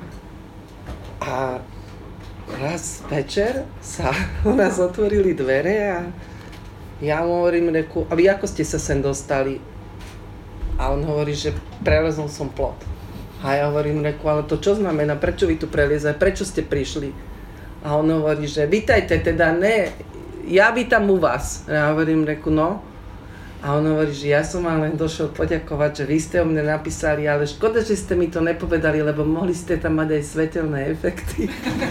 A raz večer sa u nás otvorili dvere a ja mu hovorím, reku, a vy ako ste sa sem dostali? A on hovorí, že prelezol som plot. A ja hovorím, reku, ale to čo znamená? Prečo vy tu preliezali? Prečo ste prišli? A on hovorí, že vítajte, teda ne, ja vítam u vás. A ja hovorím, reku, no. A on hovorí, že ja som vám len došiel poďakovať, že vy ste o mne napísali, ale škoda, že ste mi to nepovedali, lebo mohli ste tam mať aj svetelné efekty.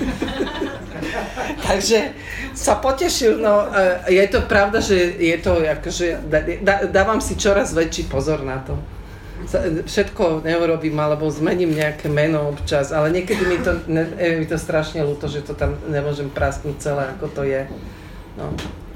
Takže sa potešil, no je to pravda, že je to akože, dá, dávam si čoraz väčší pozor na to. Všetko neurobím, alebo zmením nejaké meno občas, ale niekedy mi to, ne, je mi to strašne ľúto, že to tam nemôžem prasknúť celé, ako to je. No.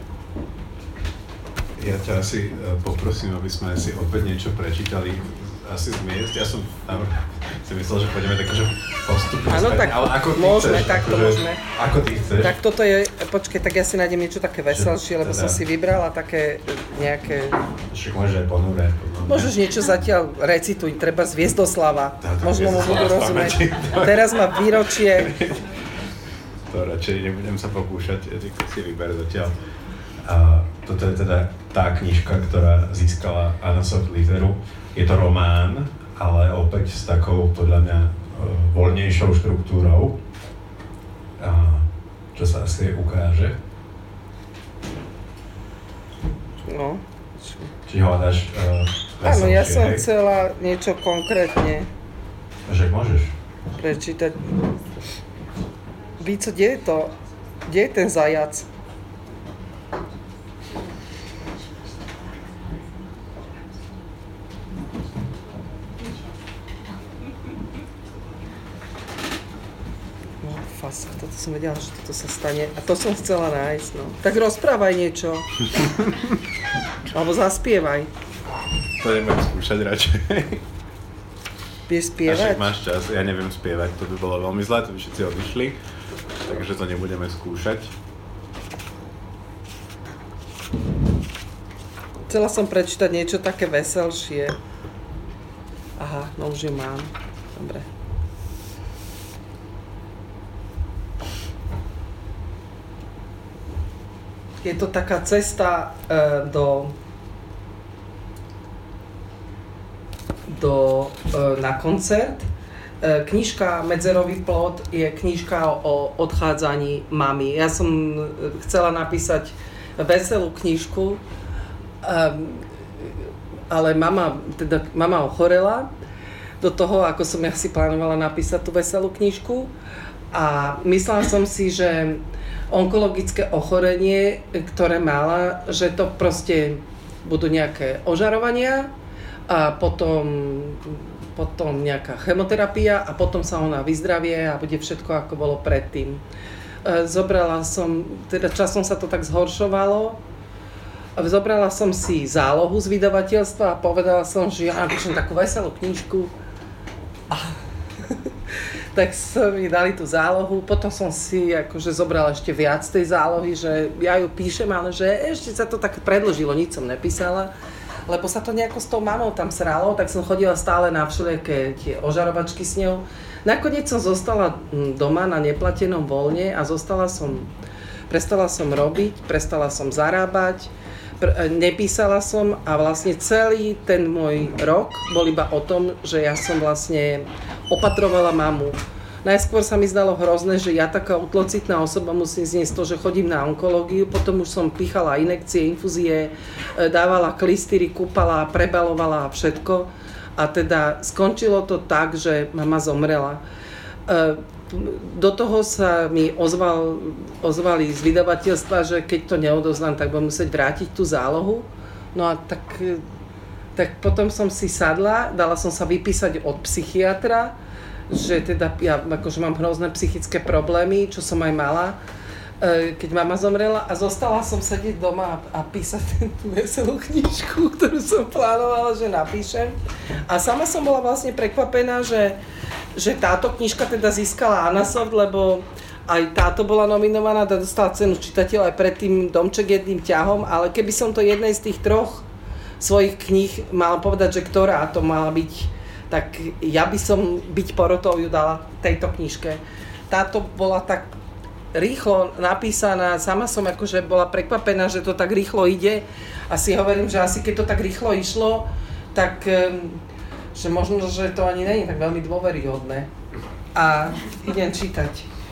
Ja ťa asi poprosím, aby sme si opäť niečo prečítali asi z miest. Ja som si myslel, že pôjdeme tak, že postupne áno, späť, tak ale ako ty môžeme, chceš, tak to akože, môžeme. Ako ty chceš. Tak toto je, počkej, tak ja si nájdem niečo také veselšie, lebo teda, som si vybrala také nejaké... Však môže aj ponúre. Môžeš niečo zatiaľ recituj, treba z Viezdoslava. Tá, tá, možno mu budú Viezdoslava rozumieť. pamäti. Teraz má výročie. To radšej nebudem sa pokúšať, ja si vyber zatiaľ. A toto je teda tá knižka, ktorá získala Anasov literu. Je to román, ale opäť s takou, podľa mňa, voľnejšou štruktúrou, a čo sa asi ukáže. No. Či hľadáš uh, veselšie, áno, ja som hej? chcela niečo konkrétne Že môžeš. prečítať. Víco, kde je to? Kde je ten zajac? Fasa, toto som vedela, že toto sa stane. A to som chcela nájsť, no. Tak rozprávaj niečo. Alebo zaspievaj. To nebudem skúšať radšej. Vieš A spievať? však máš čas, ja neviem spievať, to by bolo veľmi zlé, to by všetci odišli. Takže to nebudeme skúšať. Chcela som prečítať niečo také veselšie. Aha, no už ju mám. Dobre. Je to taká cesta e, do, do e, na koncert. E, knižka Medzerový plot je knižka o odchádzaní mamy. Ja som chcela napísať veselú knižku, e, ale mama, teda mama ochorela do toho, ako som ja si plánovala napísať tú veselú knižku. A myslela som si, že onkologické ochorenie, ktoré mala, že to proste budú nejaké ožarovania a potom, potom nejaká chemoterapia a potom sa ona vyzdravie a bude všetko, ako bolo predtým. Zobrala som, teda časom sa to tak zhoršovalo, zobrala som si zálohu z vydavateľstva a povedala som, že ja napíšem takú veselú knižku. A tak som mi dali tú zálohu, potom som si akože zobrala ešte viac tej zálohy, že ja ju píšem, ale že ešte sa to tak predĺžilo, nič som nepísala, lebo sa to nejako s tou mamou tam sralo, tak som chodila stále na všelijaké tie ožarovačky s ňou. Nakoniec som zostala doma na neplatenom voľne a zostala som, prestala som robiť, prestala som zarábať, pr- nepísala som a vlastne celý ten môj rok bol iba o tom, že ja som vlastne opatrovala mamu. Najskôr sa mi zdalo hrozné, že ja taká utlocitná osoba musím zniesť to, že chodím na onkológiu, potom už som pichala injekcie, infúzie, dávala klistýry, kúpala, prebalovala a všetko. A teda skončilo to tak, že mama zomrela. Do toho sa mi ozval, ozvali z vydavateľstva, že keď to neodoznám, tak budem musieť vrátiť tú zálohu. No a tak, tak potom som si sadla, dala som sa vypísať od psychiatra, že teda ja akože mám hrozné psychické problémy, čo som aj mala, keď mama zomrela, a zostala som sedieť doma a písať tú veselú knižku, ktorú som plánovala, že napíšem. A sama som bola vlastne prekvapená, že, že táto knižka teda získala Anasoft, lebo aj táto bola nominovaná, dostala cenu čitateľa aj pred tým Domček jedným ťahom, ale keby som to jednej z tých troch svojich kníh mala povedať, že ktorá to mala byť, tak ja by som byť porotou ju dala tejto knižke. Táto bola tak rýchlo napísaná, sama som akože bola prekvapená, že to tak rýchlo ide a si hovorím, že asi keď to tak rýchlo išlo, tak že možno, že to ani není tak veľmi dôveryhodné. A idem čítať.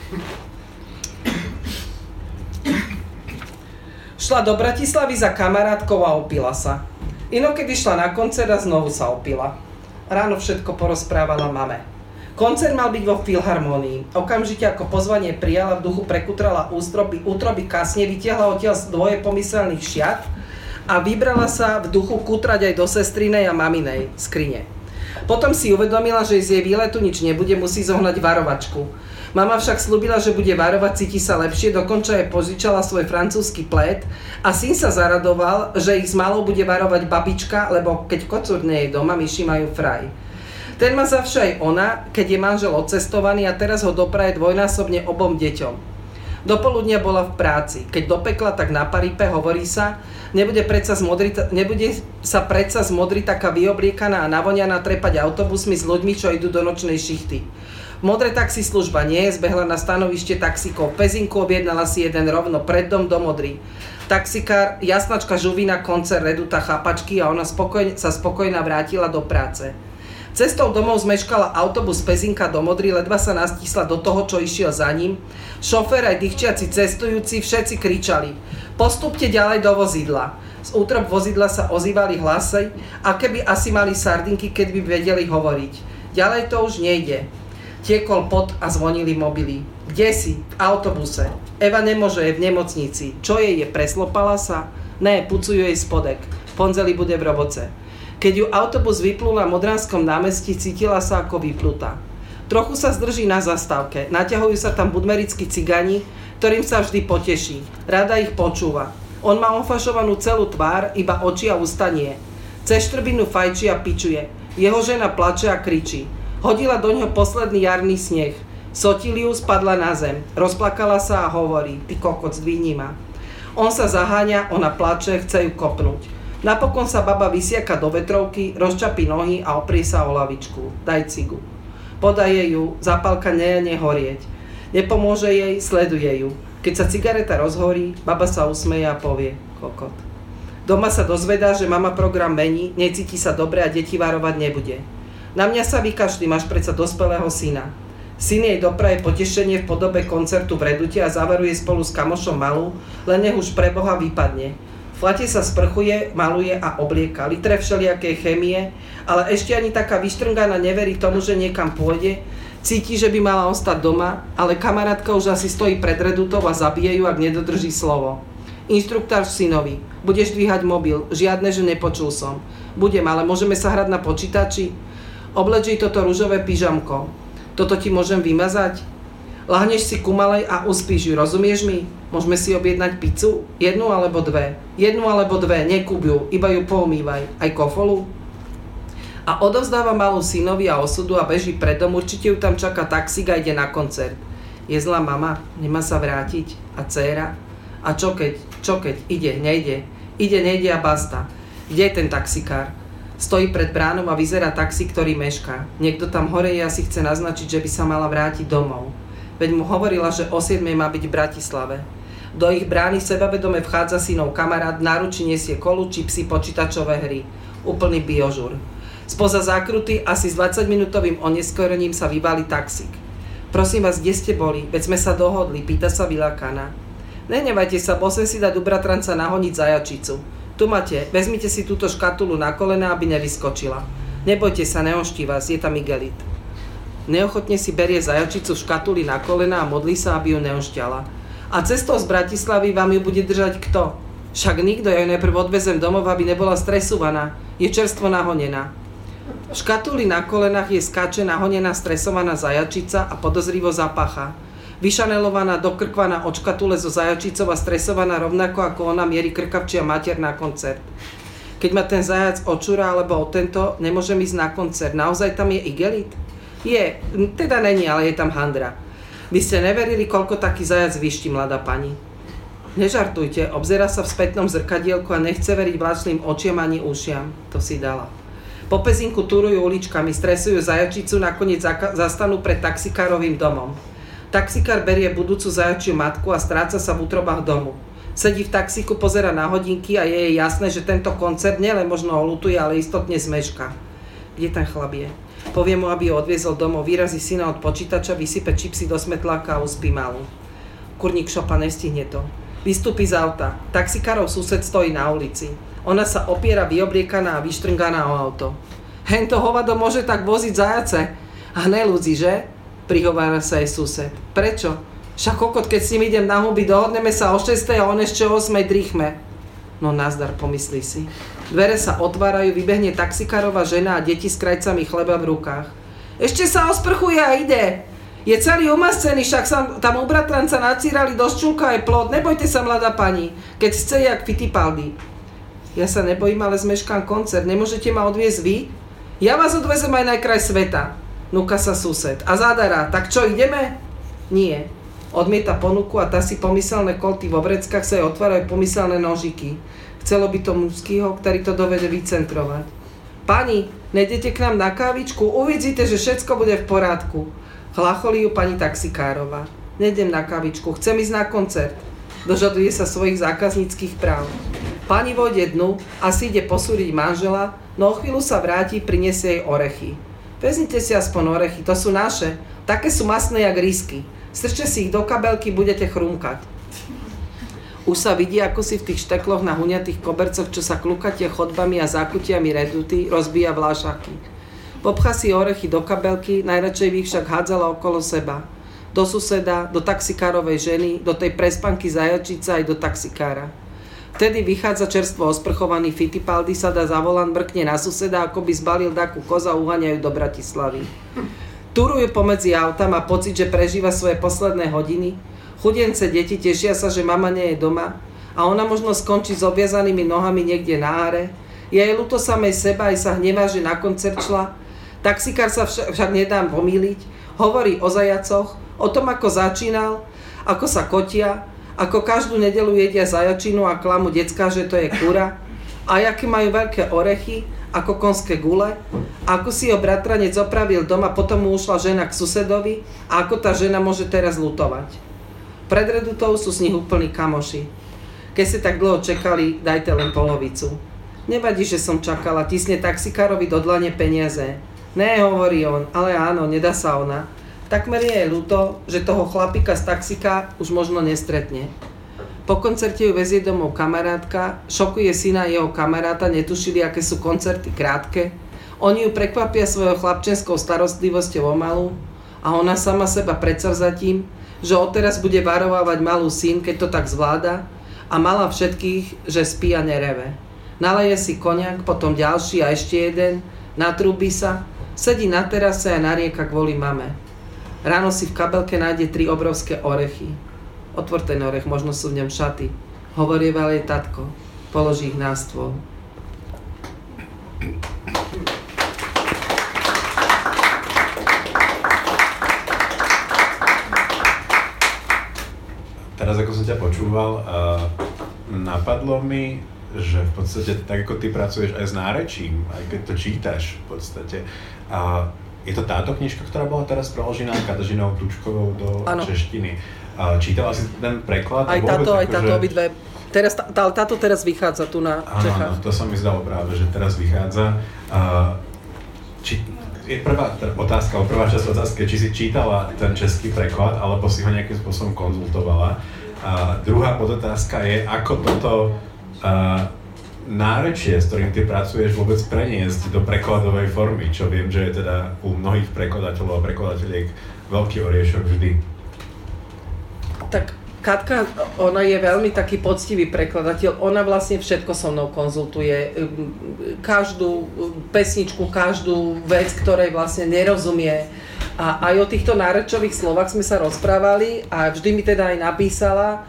Šla do Bratislavy za kamarátkou a opila sa. Inokedy šla na koncert a znovu sa opila. Ráno všetko porozprávala mame. Koncert mal byť vo Filharmónii. Okamžite ako pozvanie prijala, v duchu prekutrala ústroby, útroby kasne, vytiahla odtiaľ dvoje pomyselných šiat a vybrala sa v duchu kutrať aj do sestrinej a maminej skrine. Potom si uvedomila, že z jej výletu nič nebude, musí zohnať varovačku. Mama však slúbila, že bude varovať, cíti sa lepšie, dokonca jej požičala svoj francúzsky plét a syn sa zaradoval, že ich s malou bude varovať babička, lebo keď kocúr nie je doma, myši majú fraj. Ten má zavše aj ona, keď je manžel odcestovaný a teraz ho dopraje dvojnásobne obom deťom. Dopoludnia bola v práci. Keď dopekla, tak na paripe, hovorí sa, nebude, predsa zmodri, nebude sa predsa zmodriť taká vyobliekaná a navoňaná trepať autobusmi s ľuďmi, čo idú do nočnej šichty. Modré taxislužba nie je, zbehla na stanovište taxíkov. V Pezinku objednala si jeden rovno pred dom do Modry. Taxikár, jasnačka Žuvina, koncert Reduta, chápačky a ona spokojne, sa spokojná vrátila do práce. Cestou domov zmeškala autobus z Pezinka do Modry, ledva sa nastísla do toho, čo išiel za ním. Šofér aj dýchčiaci cestujúci všetci kričali: postupte ďalej do vozidla. Z útrob vozidla sa ozývali hlasy, a keby asi mali sardinky, keď by vedeli hovoriť. Ďalej to už nejde. Tiekol pot a zvonili mobily. Kde si? V autobuse. Eva nemôže, je v nemocnici. Čo jej je, preslopala sa? Ne, pucujú jej spodek. V ponzeli bude v roboce. Keď ju autobus vyplul na Modranskom námestí, cítila sa ako vyplutá. Trochu sa zdrží na zastávke. Naťahujú sa tam budmerickí cigani, ktorým sa vždy poteší. Rada ich počúva. On má ofašovanú celú tvár, iba oči a ústa nie. Cez štrbinu fajčí a pičuje. Jeho žena plače a kričí. Hodila do ňoho posledný jarný sneh. Sotili ju, spadla na zem. Rozplakala sa a hovorí: ty kokot, zdvihni ma. On sa zaháňa, ona plače, chce ju kopnúť. Napokon sa baba vysiaka do vetrovky, rozčapí nohy a oprie sa o lavičku. Daj cigu. Podaje ju, zapálka nejene horieť. Nepomôže jej, sleduje ju. Keď sa cigareta rozhorí, baba sa usmeje a povie: kokot. Doma sa dozvedá, že mama program mení, necíti sa dobre a deti varovať nebude. Na mňa sa vykašli, máš predsa dospelého syna. Syn jej dopraje potešenie v podobe koncertu v Redute a zavaruje spolu s kamošom malú, len nech už pre Boha vypadne. V flate sa sprchuje, maluje a oblieka, litre všelijakej chémie, ale ešte ani taká vyštrnganá neverí tomu, že niekam pôjde, cíti, že by mala ostať doma, ale kamarátka už asi stojí pred Redutou a zabije ju, ak nedodrží slovo. Inštruktár synovi: budeš dvíhať mobil, žiadne, že nepočul som. Budem, ale môžeme sa hrať na počítači? Obleč jej toto ružové pyžamko. Toto ti môžem vymazať? Lahneš si ku malej a uspíš ju, rozumieš mi? Môžeme si objednať pizzu? Jednu alebo dve? Jednu alebo dve, nekúb ju, iba ju poumývaj. Aj kofolu? A odovzdáva malú synovi a osudu a beží pred dom, určite ju tam čaká taxík a ide na koncert. Je zlá mama, nemá sa vrátiť? A dcéra? A čo keď? Čo keď? Ide, nejde. Ide, nejde a basta. Kde je ten taxikár? Stojí pred bránou a vyzerá taxi, ktorý mešká. Niekto tam hore je, asi chce naznačiť, že by sa mala vrátiť domov. Veď mu hovorila, že o siedmej má byť v Bratislave. Do ich brány sebavedome vchádza synov kamarát, v náruči nesie kolu, čipsy, počítačové hry. Úplný biožur. Spoza zákruty asi s dvadsaťminútovým oneskorením sa vyvalí taxík. Prosím vás, kde ste boli? Veď sme sa dohodli, pýta sa vyľakaná. Nenevajte sa, bol som si dať u bratranca nahoniť zajačicu. Tu máte, vezmite si túto škatulu na kolena, aby nevyskočila. Nebojte sa, neoští vás, je tam igelit. Neochotne si berie zajačicu v škatuli na kolena a modlí sa, aby ju neošťala. A cestou z Bratislavy vám ju bude držať kto? Však nikto, ja ju najprv odvezem domov, aby nebola stresovaná. Je čerstvo nahonená. V škatuli na kolenách je skáče nahonená stresovaná zajačica a podozrivo zapácha. Vyšanelovaná, dokrkvaná od škatule zo zajačicou a stresovaná rovnako ako ona mierí krkavčia mater na koncert. Keď ma ten zajac očúra alebo o tento, nemôžem ísť na koncert. Naozaj tam je igelit? Je, teda není, ale je tam handra. Vy ste neverili, koľko taký zajac vyští, mladá pani. Nežartujte, obzerá sa v spätnom zrkadielku a nechce veriť vlastným očiam ani ušiam. To si dala. Po pezinku túrujú uličkami, stresujú zajačicu, nakoniec zastanú pred taxikárovým domom. Taxikár berie budúcu zajačiu matku a stráca sa v útrobách domu. Sedí v taxíku, pozerá na hodinky a je jej jasné, že tento koncert nielen možno olutuje, ale istotne zmeška. Kde ten chlap je? Povie mu, aby ho odviezol domov, vyrazí syna od počítača, vysype čipsy do smetláka a uspí malú. Kurník šopa, nestihne to. Vystúpi z auta. Taxikárov sused stojí na ulici. Ona sa opiera vyobliekaná a vyštrnganá o auto. Hento hovado môže tak voziť zajace. A nelúdzi, že? Prihovára sa jej sused. Prečo? Však kokot, keď s ním idem na huby, dohodneme sa o šiestej a on ešte o ôsmej drichme. No nazdar, pomyslí si. Dvere sa otvárajú, vybehne taxikárová žena a deti s krajcami chleba v rukách. Ešte sa osprchuje a ide. Je celý umascený, však sa tam u bratranca nacírali do ščulka aj plod. Nebojte sa, mladá pani, keď chce jak Fittipaldi. Ja sa nebojím, ale zmeškám koncert. Nemôžete ma odviezť vy? Ja vás odvezem aj na kraj sveta. Núka sa sused. A zadara, tak čo, ideme? Nie. Odmieta ponuku a tá si pomyselné kolty vo vreckách sa jej otvárajú pomyselné nožiky. Chcelo by to mužskýho, ktorý to dovede vycentrovať. Pani, nejdete k nám na kávičku? Uvidíte, že všetko bude v porádku. Chlacholí ju pani taxikárova. Nejdem na kavičku, chcem ísť na koncert. Dožaduje sa svojich zákazníckych práv. Pani vojde dnu, asi ide posúdiť manžela, no o chvíľu sa vráti, prinesie jej orechy. Vezmite si aspoň orechy, to sú naše. Také sú masné jak risky. Strčte si ich do kabelky, budete chrumkať. Už sa vidí, ako si v tých štekloch na huňatých kobercoch, čo sa klukatia chodbami a zákutiami redutí, rozbíja vlášaky. Popchá si orechy do kabelky, najradšej by ich však hádzala okolo seba. Do suseda, do taxikárovej ženy, do tej prespanky zajačica aj do taxikára. Vtedy vychádza čerstvo osprchovaný Fittipaldi, sa dá za volant, brkne na suseda, ako by zbalil takú koza, uháňajú do Bratislavy. Turujú pomedzi auta, má pocit, že prežíva svoje posledné hodiny. Chudence deti tešia sa, že mama nie je doma a ona možno skončí s obviazanými nohami niekde na áre. Je jej ľúto samej seba, aj sa hnevá, že na koncert šla. Taxikár sa však, však nedá pomýliť, hovorí o zajacoch, o tom, ako začínal, ako sa kotia, ako každú nedeľu jedia zajačinu a klamu decká, že to je kura, a aké majú veľké orechy, ako konské gule, a ako si ho bratranec opravil doma, potom mu ušla žena k susedovi a ako tá žena môže teraz lutovať. Pred redutou sú z nich úplní kamoši. Keď ste tak dlho čakali, dajte len polovicu. Nevadí, že som čakala, tisne taxikárovi do dlane peniaze. Ne, hovorí on, ale áno, nedá sa ona. Takmer je jej ľúto, že toho chlapika z taxika už možno nestretne. Po koncerte ju vezie domov kamarátka, šokuje syna jeho kamaráta, netušili, aké sú koncerty krátke. Oni ju prekvapia svojou chlapčenskou starostlivosťou o malú a ona sama seba predsavzatím, že odteraz bude varovávať malú syn, keď to tak zvláda, a mala všetkých, že spí a nereve. Naleje si koniak, potom ďalší a ešte jeden, natrúbi sa, sedí na terase a narieka kvôli mame. Ráno si v kabelke nájde tri obrovské orechy. Otvor ten orech, možno sú v ňom šaty. Hovorieval jej tatko. Položí ich na stôl. Teraz ako som ťa počúval, uh, napadlo mi, že v podstate tak ako ty pracuješ aj s nárečím, aj keď to čítaš v podstate. Uh, je to táto knižka, ktorá bola teraz preložená Katežinou Tučkovou do ano. češtiny. Uh, čítala si ten preklad? Aj táto, aj táto, že... obidve. Teraz, tá, táto teraz vychádza tu na Čechách. Áno, to sa mi zdalo práve, že teraz vychádza. Uh, či, je prvá otázka, prvá časť otázky, či si čítala ten český preklad, alebo si ho nejakým spôsobom konzultovala. A druhá podotázka je, ako toto uh, nárečie, s ktorým ty pracuješ, vôbec preniesť do prekladovej formy, čo viem, že je teda u mnohých prekladateľov a prekladateľiek veľký oriešok vždy. Tak Katka, ona je veľmi taký poctivý prekladateľ, ona vlastne všetko so mnou konzultuje, každú pesničku, každú vec, ktorej vlastne nerozumie. A aj o týchto nárečových slovách sme sa rozprávali a vždy mi teda aj napísala,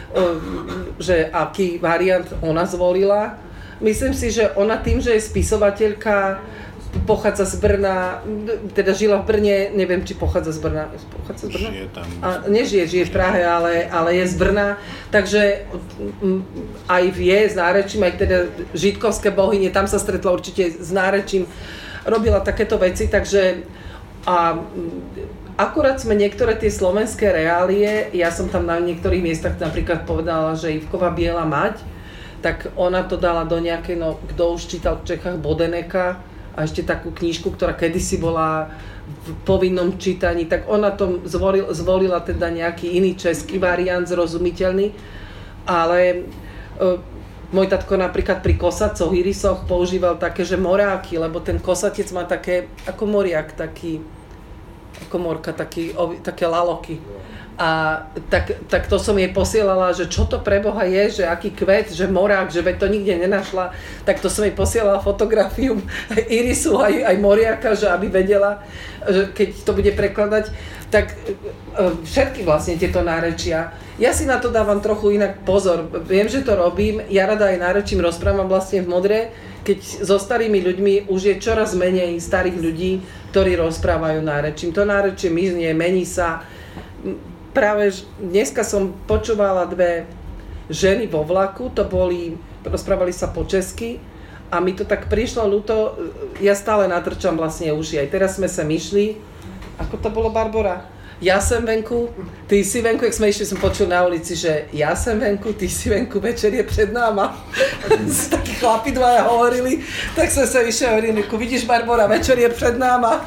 že aký variant ona zvolila. Myslím si, že ona tým, že je spisovateľka, pochádza z Brna, teda žila v Brne, neviem, či pochádza z Brna. Pochádza z Brna? Žije tam. A nežije, žije v Prahe, ale, ale je z Brna, takže aj vie s nárečím, aj teda židkovské bohyne, tam sa stretla určite s nárečím, robila takéto veci, takže a akurát sme niektoré tie slovenské reálie, ja som tam na niektorých miestach napríklad povedala, že Ivková Biela mať, tak ona to dala do nejakej, no kto už čítal v Čechách Bodeneka, a ešte takú knižku, ktorá kedysi bola v povinnom čítaní, tak ona to zvolil, zvolila teda nejaký iný český variant, zrozumiteľný, ale e, môj tatko napríklad pri kosacoch, irisoch používal také, že moráky, lebo ten kosatec má také, ako moriak, taký, ako morka, taký, také laloky. A tak, tak to som jej posielala, že čo to pre Boha je, že aký kvet, že morák, že veď to nikde nenašla, tak to som jej posielala fotografiu irisu aj, aj moriaka, že aby vedela, že keď to bude prekladať, tak všetky vlastne tieto nárečia. Ja si na to dávam trochu inak pozor, viem, že to robím, ja rada aj nárečím rozprávam vlastne v Modre, keď so starými ľuďmi už je čoraz menej starých ľudí, ktorí rozprávajú nárečím. To nárečie miznie, mení sa. Práve dneska som počúvala dve ženy vo vlaku, to boli, rozprávali sa po česky a mi to tak prišlo ľúto, ja stále natrčam vlastne uši, aj teraz sme sa myšli, ako to bolo, Barbora? Ja sem venku, ty si venku, jak sme išli, som počul na ulici, že ja sem venku, ty si venku, večer je pred náma. Takí chlapi dvaja hovorili, tak som sa vyšli a hovorili, vidíš, Barbora, večer je pred náma.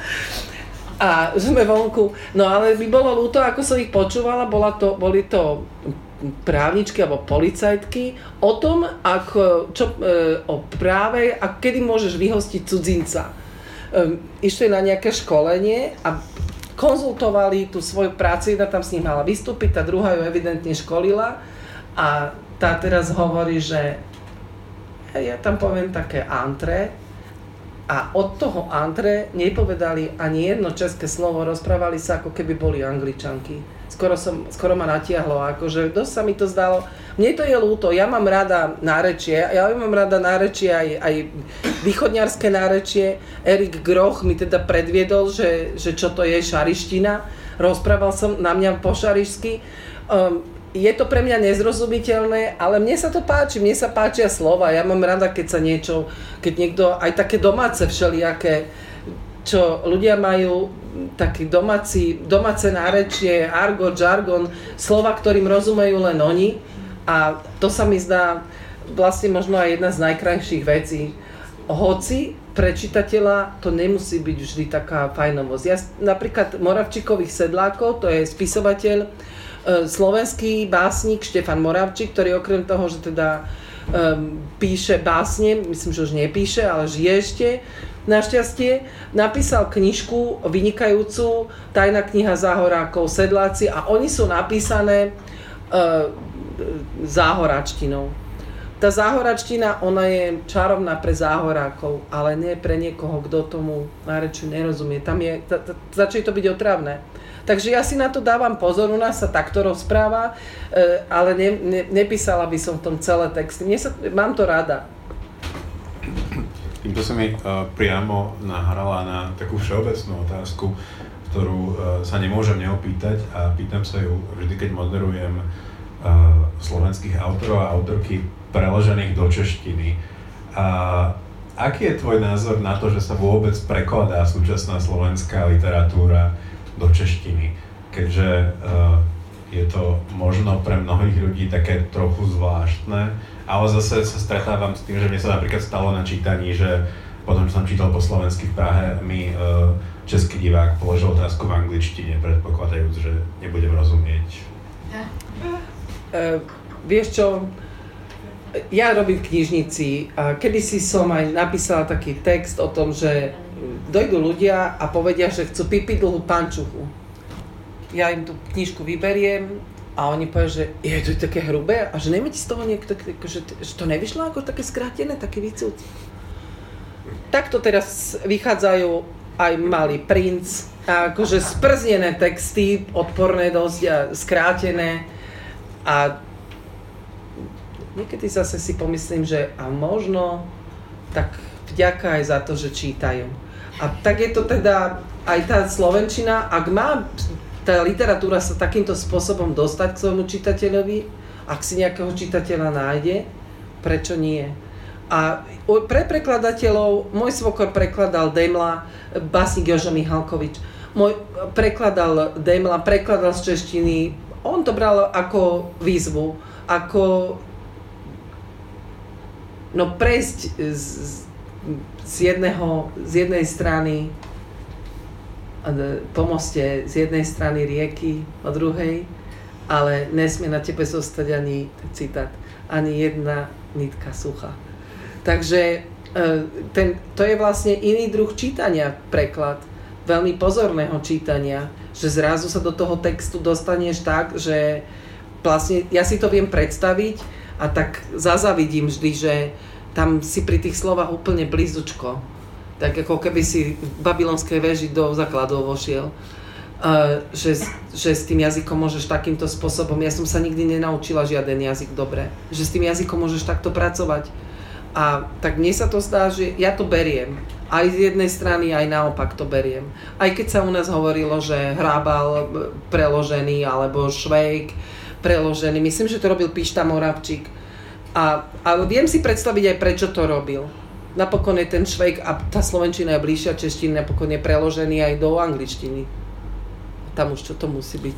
A sme vonku. No ale by bolo ľúto, ako som ich počúvala, bola to, boli to právničky alebo policajtky o tom, ako, čo, e, o práve a kedy môžeš vyhostiť cudzinca. E, išli na nejaké školenie a konzultovali tú svoju prácu, jedna tam s ním mala vystúpiť, tá druhá ju evidentne školila a tá teraz hovorí, že ja tam poviem také antré, a od toho antre nepovedali ani jedno české slovo, rozprávali sa, ako keby boli Angličanky. Skoro, som, skoro ma natiahlo, akože dosť sa mi to zdalo. Mne to je ľúto, ja mám rada nárečie, ja mám rada nárečie aj, aj východňarské nárečie. Erik Groch mi teda predviedol, že, že čo to je šariština. Rozprával som na mňa po šarišsky. Um, Je to pre mňa nezrozumiteľné, ale mne sa to páči, mne sa páčia slova. Ja mám rada, keď sa niečo, keď niekto, aj také domáce všelijaké, čo ľudia majú, taký domáci, domáce nárečie, argot, žargon, slova, ktorým rozumejú len oni. A to sa mi zdá vlastne možno aj jedna z najkrajších vecí. Hoci pre čitateľa to nemusí byť vždy taká fajnovosť. Ja napríklad Moravčíkových sedlákov, to je spisovateľ, slovenský básnik Štefan Moravčík, ktorý okrem toho, že teda um, píše básne, myslím, že už nepíše, ale žije ešte, našťastie, napísal knižku vynikajúcu, Tajná kniha záhorákov, sedláci, a oni sú napísané uh, záhoračtinou. Tá záhoračtina, ona je čarovná pre záhorákov, ale nie pre niekoho, kto tomu nárečiu nerozumie. Tam je, ta, ta, začne to byť otravné. Takže ja si na to dávam pozor, u nás sa takto rozpráva, ale ne, ne, nepísala by som v tom celé texty. Mne sa, mám to rada. Týmto sa mi uh, priamo nahrala na takú všeobecnú otázku, ktorú uh, sa nemôžem neopýtať a pýtam sa ju vždy, keď moderujem uh, slovenských autorov a autorky preložených do češtiny. Uh, aký je tvoj názor na to, že sa vôbec prekladá súčasná slovenská literatúra do češtiny, keďže uh, je to možno pre mnohých ľudí také trochu zvláštne, ale zase sa stretávam s tým, že mne sa napríklad stalo na čítaní, že potom, čo som čítal po slovensky v Prahe, mi uh, český divák položil otázku v angličtine, predpokladajúc, že nebudem rozumieť. Uh, vieš čo, ja robím v knižnici a kedysi som aj napísala taký text o tom, že dojdú ľudia a povedia, že chcú pipi dlhú pančuchu. Ja im tú knižku vyberiem a oni povedia, že je to také hrubé a že nemáte z toho niekto, že, že to nevyšlo ako také skrátené, také výcud. Takto teraz vychádzajú aj Malý princ, a akože sprznené texty, odporné dosť a skrátené a niekedy zase si pomyslím, že a možno tak vďaka aj za to, že čítajú. A tak je to teda aj tá slovenčina, ak má tá literatúra sa takýmto spôsobom dostať k svojmu čitateľovi, ak si nejakého čitateľa nájde, prečo nie? A pre prekladateľov, môj svokor prekladal Demla, básnik Jožo Michalkovič, môj prekladal Demla, prekladal z češtiny, on to bral ako výzvu, ako no prejsť z, z, jedného, z jednej strany po moste z jednej strany rieky, od druhej, ale nesmie na tebe zostať ani, citát, ani jedna nitka suchá. Takže ten, to je vlastne iný druh čítania, preklad, veľmi pozorného čítania, že zrazu sa do toho textu dostaneš tak, že vlastne ja si to viem predstaviť a tak zazavidím vždy, že tam si pri tých slovách úplne blízučko. Tak ako keby si v babylonskej veži do základov vošiel, uh, že, že s tým jazykom môžeš takýmto spôsobom, ja som sa nikdy nenaučila žiaden jazyk dobre, že s tým jazykom môžeš takto pracovať. A tak mne sa to zdá, že ja to beriem. Aj z jednej strany, aj naopak to beriem. Aj keď sa u nás hovorilo, že Hrábal preložený, alebo Švejk preložený, myslím, že to robil Pišta Moravčík. A, ale viem si predstaviť aj, prečo to robil. Napokon je ten Švejk a tá slovenčina je bližšia češtiny, napokon je preložený aj do angličtiny. Tam už čo to musí byť.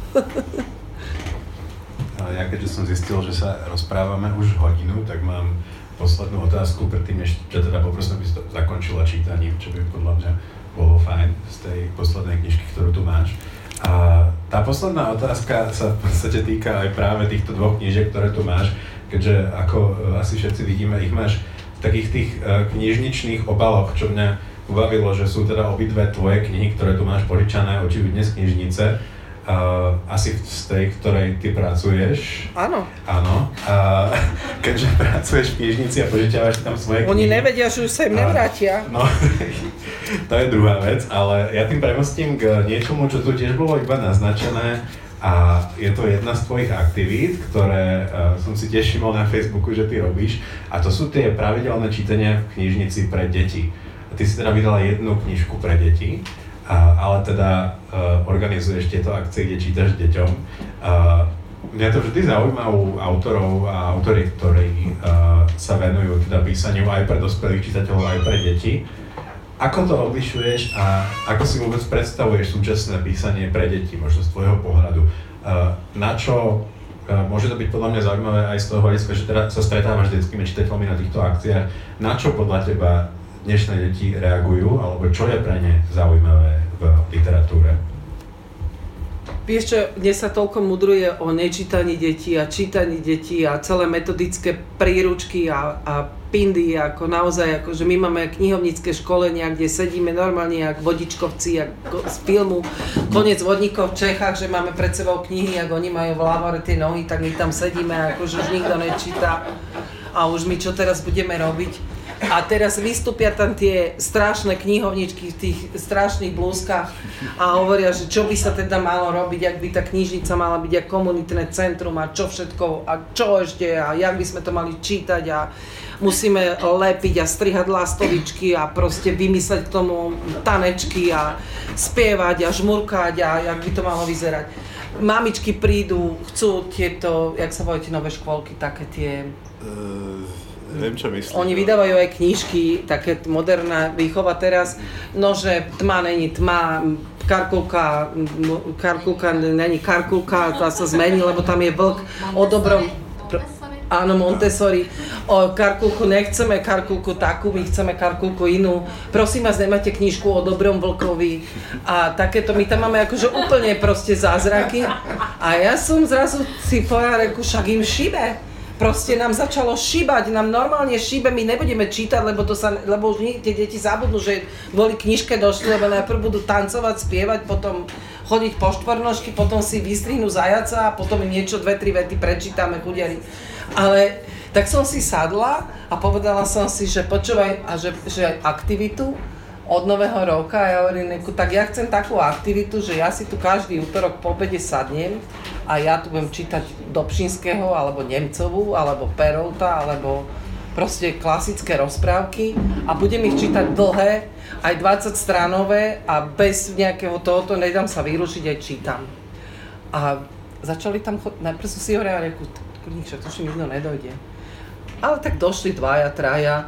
Ja keďže som zistil, že sa rozprávame už hodinu, tak mám poslednú otázku, predtým než ťa teda poprosím, aby si to zakončila čítaním, čo by podľa mňa bolo fajn z tej poslednej knižky, ktorú tu máš. A tá posledná otázka sa v podstate týka aj práve týchto dvoch knížiek, ktoré tu máš, keďže ako asi všetci vidíme, ich máš takých tých uh, knižničných obaloch, čo mňa ubavilo, že sú teda obidve tvoje knihy, ktoré tu máš požičané očividne z knižnice, uh, asi z tej, ktorej ty pracuješ. Áno. Áno. Uh, keďže pracuješ v knižnici a požičiavaš tam svoje knihy. Oni nevedia, že už sa im nevrátia. No, to je druhá vec, ale ja tým premostím k niečomu, čo tu tiež bolo iba naznačené. A je to jedna z tvojich aktivít, ktoré uh, som si tiež všimol na Facebooku, že ty robíš. A to sú tie pravidelné čítania v knižnici pre deti. A ty si teda vydala jednu knižku pre deti, uh, ale teda uh, organizuješ tieto akcie, kde čítaš deťom. Uh, mňa to vždy zaujíma u autorov a autori, ktorí uh, sa venujú teda písaniu aj pre dospelých čitateľov, aj pre deti. Ako to odlišuješ a ako si vôbec predstavuješ súčasné písanie pre deti, možno z tvojho pohľadu? Na čo, môže to byť podľa mňa zaujímavé aj z toho hľadiska, že teda sa stretávaš s detskými čitateľmi na týchto akciách, na čo podľa teba dnešné deti reagujú, alebo čo je pre ne zaujímavé v literatúre? Vieš čo, dnes sa toľko mudruje o nečítaní detí a čítaní detí a celé metodické príručky a, a pindy, ako naozaj, ako, že my máme knihovnícke školenia, kde sedíme normálne jak vodičkovci, ako z filmu Koniec vodníkov v Čechách, že máme pred sebou knihy, ako oni majú v lávore tie nohy, tak my tam sedíme, akože už nikto nečíta a už my čo teraz budeme robiť. A teraz vystúpia tam tie strašné knihovničky v tých strašných blúzkach a hovoria, že čo by sa teda malo robiť, ak by tá knižnica mala byť ako komunitné centrum a čo všetko a čo ešte a jak by sme to mali čítať a musíme lepiť a strihať lastovičky a proste vymysleť k tomu tanečky a spievať a žmurkať a jak by to malo vyzerať. Mamičky prídu, chcú tieto, jak sa volajú tie nové škôlky, také tie... Uh... Neviem, čo myslím. Oni vydávajú aj knižky, také moderná výchova teraz, no že tma není tma, karkulka, karkulka není karkulka, tá sa zmení, lebo tam je vlk o dobrom... Áno, Montessori. O karkulku nechceme karkulku takú, my chceme karkulku inú. Prosím vás, nemáte knižku o Dobrom vlkovi a takéto, my tam máme akože úplne proste zázraky. A ja som zrazu si povedala, reku, však im šibe. Proste nám začalo šíbať, nám normálne šíbe, my nebudeme čítať, lebo, to sa, lebo už nie, tie deti zabudnú, že kvôli knižke došli, lebo najprv budú tancovať, spievať, potom chodiť po štvornožky, potom si vystrihnú zajaca a potom im niečo, dve, tri vety prečítame, chudiari. Ale tak som si sadla a povedala som si, že počúvaj, a že, že aktivitu od nového roka, a ja hovorím, tak ja chcem takú aktivitu, že ja si tu každý útorok po obede sadnem a ja tu budem čítať Dobšinského, alebo Nemcovú, alebo Perolta, alebo proste klasické rozprávky a budem ich čítať dlhé, aj dvadsaťstránové a bez nejakého tohoto, nedám sa vyrušiť, aj čítam. A začali tam chodiť, najprv som si hovorila, reku, kurník, to už mi nikto nedojde. Ale tak došli dvaja, traja,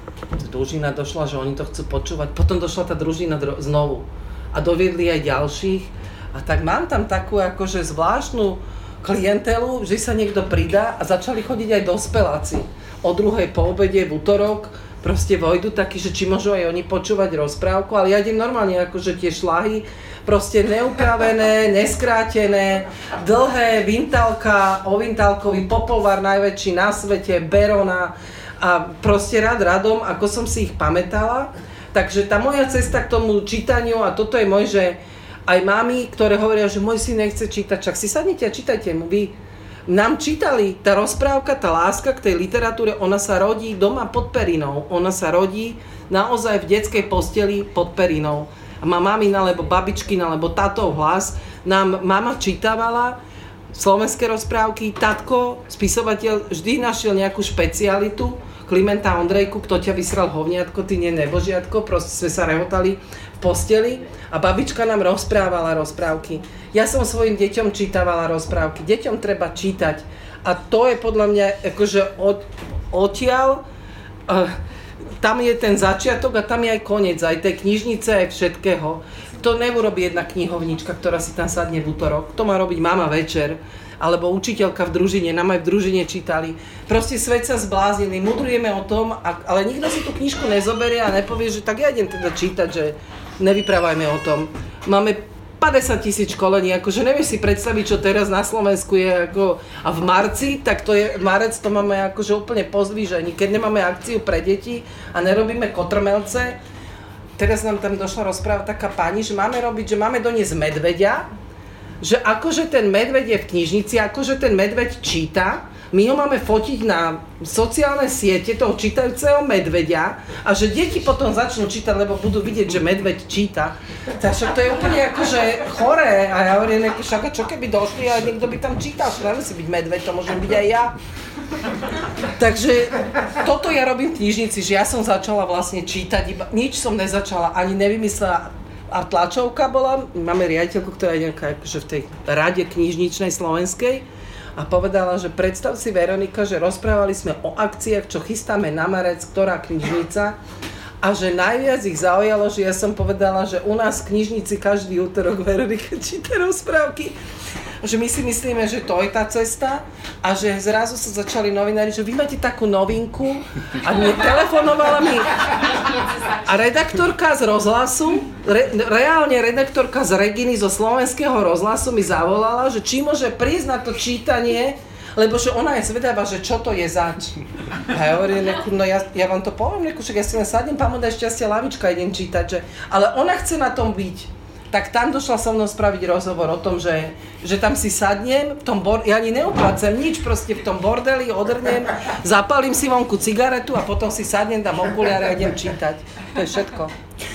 družina došla, že oni to chcú počúvať, potom došla tá družina dro- znovu a doviedli aj ďalších a tak mám tam takú akože zvláštnu klientelu, že sa niekto pridá a začali chodiť aj dospeláci. O druhej po obede v útorok proste vojdu takí, že či môžu aj oni počúvať rozprávku, ale ja idem normálne akože tie šlahy, proste neupravené, neskrátené, dlhé, Vintálka, o Vintálkovi, Popolvar najväčší na svete, Berona a proste rád radom, ako som si ich pamätala. Takže tá moja cesta k tomu čítaniu a toto je môj, že aj mami, ktoré hovoria, že môj syn nechce čítať, čak si sadnite a čítajte mu vy. Nám čítali, tá rozprávka, tá láska k tej literatúre, ona sa rodí doma pod perinou. Ona sa rodí naozaj v detskej posteli pod perinou. A má mamina, alebo babičkina, alebo tatov hlas. Nám mama čítavala slovenské rozprávky, tatko, spisovateľ, vždy našiel nejakú špecialitu. Klimenta Ondrejku, kto ťa vysral hovniatko, ty nie nebožiatko, proste sme sa rehotali v posteli a babička nám rozprávala rozprávky. Ja som svojim deťom čítavala rozprávky. Deťom treba čítať a to je podľa mňa akože od, odtiaľ, uh, tam je ten začiatok a tam je aj koniec, aj tej knižnice, aj všetkého. To neurobí jedna knihovnička, ktorá si tam sadne v útorok, to má robiť mama večer, alebo učiteľka v družine, nám aj v družine čítali. Proste svet sa zbláznili, mudrujeme o tom, ale nikto si tú knižku nezoberie a nepovie, že tak ja idem teda čítať, že nevyprávajme o tom. Máme päťdesiat tisíc školení, akože nevieš si predstaviť, čo teraz na Slovensku je ako, a v marci, tak to je, marec to máme akože úplne pozdvížení, keď nemáme akciu pre deti a nerobíme kotrmelce. Teraz nám tam došla rozpráva taká pani, že máme robiť, že máme doniesť medveďa, že akože ten medveď je v knižnici, akože ten medveď číta, my ho máme fotiť na sociálne siete toho čítajúceho medveďa a že deti potom začnú čítať, lebo budú vidieť, že medveď číta. Takže to je úplne akože choré a ja hovorím, však čo keby došli a niekto by tam čítal, že nemusí byť medveď, to môžem byť aj ja. Takže toto ja robím v knižnici, že ja som začala vlastne čítať, iba, nič som nezačala, ani nevymyslela. A tlačovka bola, máme riaditeľku, ktorá je nejaká akože v tej rade knižničnej slovenskej a povedala, že predstav si Veronika, že rozprávali sme o akciách, čo chystáme na marec, ktorá knižnica a že najviac ich zaujalo, že ja som povedala, že u nás v knižnici každý útorok Veronika číta rozprávky. Že my si myslíme, že to je tá cesta a že zrazu sa začali novinári, že vy máte takú novinku a mne telefonovala mi a redaktorka z rozhlasu, re, reálne redaktorka z Reginy zo slovenského rozhlasu mi zavolala, že či môže prísť na to čítanie, lebo že ona je zvedavá, že čo to je zač. A ja hovorím, no ja, ja vám to poviem, však ja si len sadnem, pán mu daj šťastie, lavička, idem čítať, že, ale ona chce na tom byť. Tak tam došla so mnou spraviť rozhovor o tom, že, že tam si sadnem, v tom bor- ja ani neuplácem nič, proste v tom bordeli odrnem, zapalím si vonku cigaretu a potom si sadnem, dám okuliare a idem čítať. To je všetko.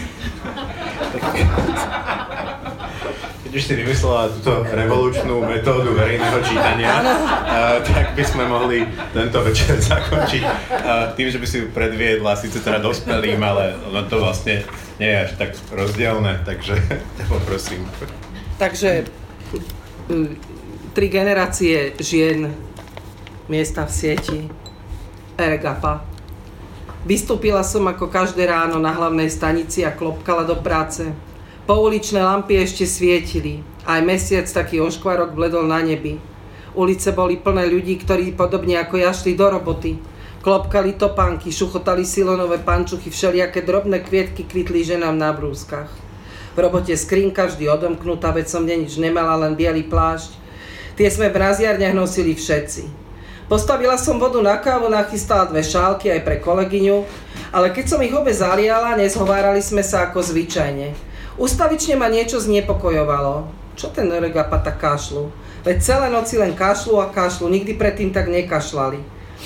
Keď už si vymyslela túto revolučnú metódu verejného čítania, uh, tak by sme mohli tento večer zakončiť uh, tým, že by si ju predviedla, síce teda dospelým, ale ono to vlastne nie je až tak rozdielne, takže ťa poprosím. Takže tri generácie žien, miesta v sieti, Ergapa. Vystúpila som ako každé ráno na hlavnej stanici a klopkala do práce. Pouličné lampy ešte svietili, aj mesiac taký oškvarok bledol na nebi. Ulice boli plné ľudí, ktorí podobne ako ja šli do roboty. Klopkali topánky, šuchotali silonové pančuchy, všelijaké drobné kvietky kvitli ženám na brúskach. V robote skrinka vždy odomknutá, veď som nič nemala, len biely plášť. Tie sme v mraziarniach nosili všetci. Postavila som vodu na kávu, nachystala dve šálky aj pre kolegyňu, ale keď som ich obe zaliala, nezhovárali sme sa ako zvyčajne. Ustavične ma niečo znepokojovalo. Čo ten Eregapa tak kašľu? Veď celé noci len kašľu a kašľu, nikdy predtým tak nekašľali.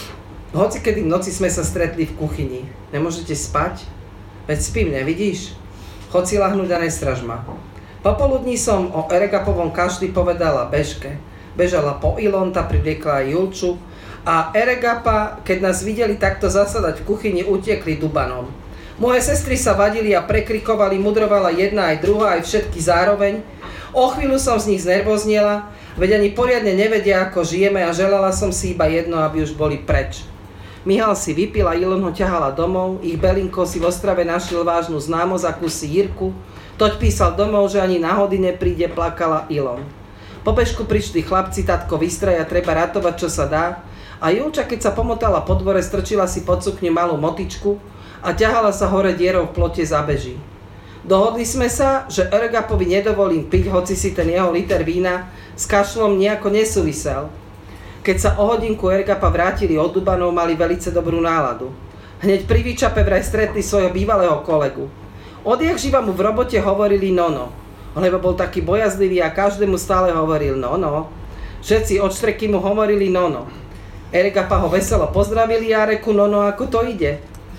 Hoci kedy v noci sme sa stretli v kuchyni. Nemôžete spať? Veď spím, nevidíš? Chod si lahnúť a nestraž ma. Popoludní som o Eregapovom kašli povedala Bežke. Bežala po Ilonta, privliekla aj Julču a Eregapa, keď nás videli takto zasadať v kuchyni, utiekli dubanom. Moje sestry sa vadili a prekrikovali, mudrovala jedna aj druhá, aj všetky zároveň. O chvíľu som z nich znervozniela, veď ani poriadne nevedia, ako žijeme a želala som si iba jedno, aby už boli preč. Mihal si vypil a Ilon ho ťahala domov, ich Belinko si v Ostrave našiel vážnu známosť, akúsi Jirku. Toť písal domov, že ani náhody nepríde, plakala Ilon. Po Bežku prišli chlapci, tatko vystraja, treba ratovať, čo sa dá. A Julča, keď sa pomotala po dvore, strčila si pod sukňu malú motičku a ťahala sa hore dierou v plote za Beží. Dohodli sme sa, že Eregapovi nedovolím piť, hoci si ten jeho liter vína s kašlom nejako nesúvisel. Keď sa o hodinku Eregapa vrátili od Dubanov, mali velice dobrú náladu. Hneď pri výčape vraj stretli svojho bývalého kolegu. Odjak živa mu v robote hovorili Nono, lebo bol taký bojazlivý a každému stále hovoril Nono. Všetci od štreky mu hovorili Nono. Eregapa ho veselo pozdravili a reku Nono, ako to ide.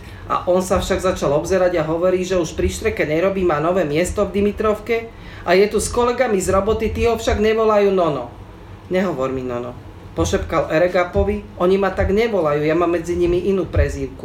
A on sa však začal obzerať a hovorí, že už pri štreke nerobí, má nové miesto v Dimitrovke a je tu s kolegami z roboty, tí ho však nevolajú Nono. Nehovor mi Nono, pošepkal Eregapovi, oni ma tak nevolajú, ja mám medzi nimi inú prezývku.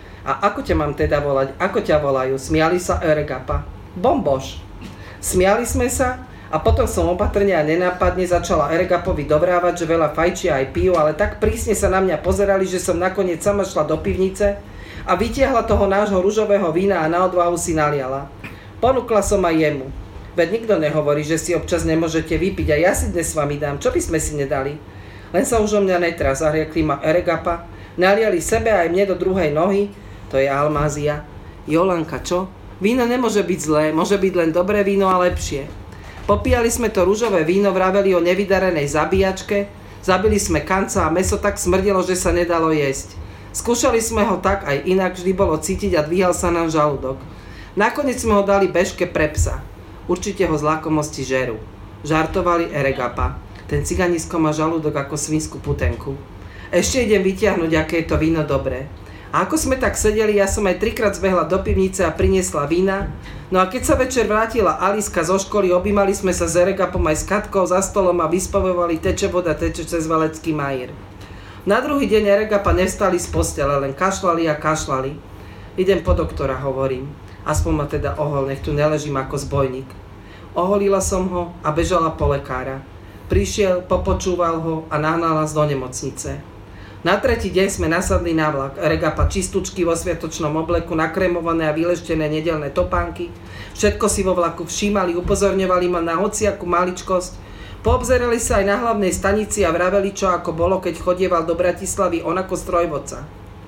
A ako ťa mám teda volať, ako ťa volajú? Smiali sa Eregapa. Bomboš. Smiali sme sa a potom som opatrne a nenápadne začala Eregapovi dobrávať, že veľa fajčia aj pijú, ale tak prísne sa na mňa pozerali, že som nakoniec sama šla do pivnice a vytiahla toho nášho ružového vína a na odvahu si naliala. Ponúkla som aj jemu. Veď nikto nehovorí, že si občas nemôžete vypiť a ja si dnes s vami dám. Čo by sme si nedali? Len sa už o mňa netrá, zahriekli ma Eregapa. Naliali sebe aj mne do druhej nohy. To je Almázia. Jolanka, čo? Víno nemôže byť zlé, môže byť len dobré víno a lepšie. Popíjali sme to ružové víno, vraveli o nevydarenej zabíjačke, zabili sme kanca a mäso tak smrdelo, že sa nedalo jesť. Skúšali sme ho tak aj inak, vždy bolo cítiť a dvíhal sa nám žalúdok. Nakoniec sme ho dali Bežke pre psa. Určite ho z lakomosti žerú. Žartovali Eregapa. Ten ciganisko má žalúdok ako svinskú putenku. Ešte idem vytiahnuť, aké je to víno dobré. A ako sme tak sedeli, ja som aj trikrát zbehla do pivnice a priniesla vína. No a keď sa večer vrátila Aliska zo školy, objímali sme sa s Eregapom aj s Katkou za stolom a vyspevovali teče voda, teče cez Valecký majír. Na druhý deň Eregapa nevstali z postele, len kašľali a kašľali. Idem po doktora, hovorím. Aspoň ma teda ohol, nech tu neležím ako zbojník. Oholila som ho a bežala po lekára. Prišiel, popočúval ho a nahnal nás do nemocnice. Na tretí deň sme nasadli na vlak. Eregapa čistučky vo sviatočnom obleku, nakrémované a vyleštené nedeľné topánky. Všetko si vo vlaku všímali, upozorňovali ma na hociakú maličkosť. Poobzerali sa aj na hlavnej stanici a vraveli, čo ako bolo, keď chodieval do Bratislavy on ako strojvodca.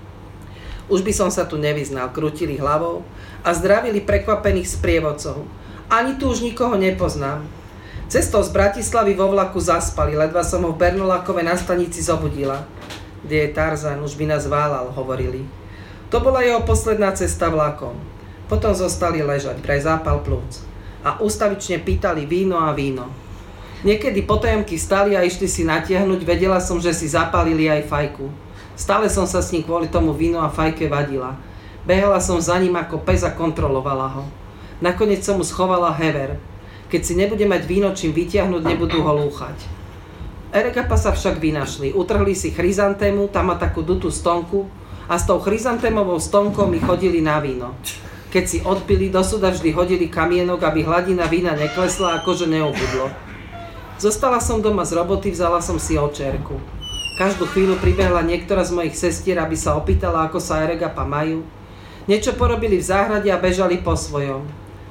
Už by som sa tu nevyznal, krútili hlavou a zdravili prekvapených sprievodcov. Ani tu už nikoho nepoznám. Cestou z Bratislavy vo vlaku zaspali, ledva som ho v Bernolákove na stanici zobudila. Kde je Tarzan, už by nás válal, hovorili. To bola jeho posledná cesta vlakom. Potom zostali ležať, pre zápal plúc. A ústavične pýtali víno a víno. Niekedy potajomky stali a išli si natiahnuť, vedela som, že si zapálili aj fajku. Stále som sa s ním kvôli tomu víno a fajke vadila. Behala som za ním ako pes a kontrolovala ho. Nakoniec som mu schovala hever. Keď si nebude mať víno čím vytiahnuť, nebudú ho lúchať. Eregapa sa však vynašli. Utrhli si chryzantému, tam má takú dutú stonku a s tou chryzantémovou stonkou mi chodili na víno. Keď si odpili, do súda vždy hodili kamienok, aby hladina vína neklesla, akože neubudlo. Zostala som doma z roboty, vzala som si očerku. Každú chvíľu pribehla niektorá z mojich sestier, aby sa opýtala, ako sa Eregapa majú. Niečo porobili v záhrade a bežali po svojom.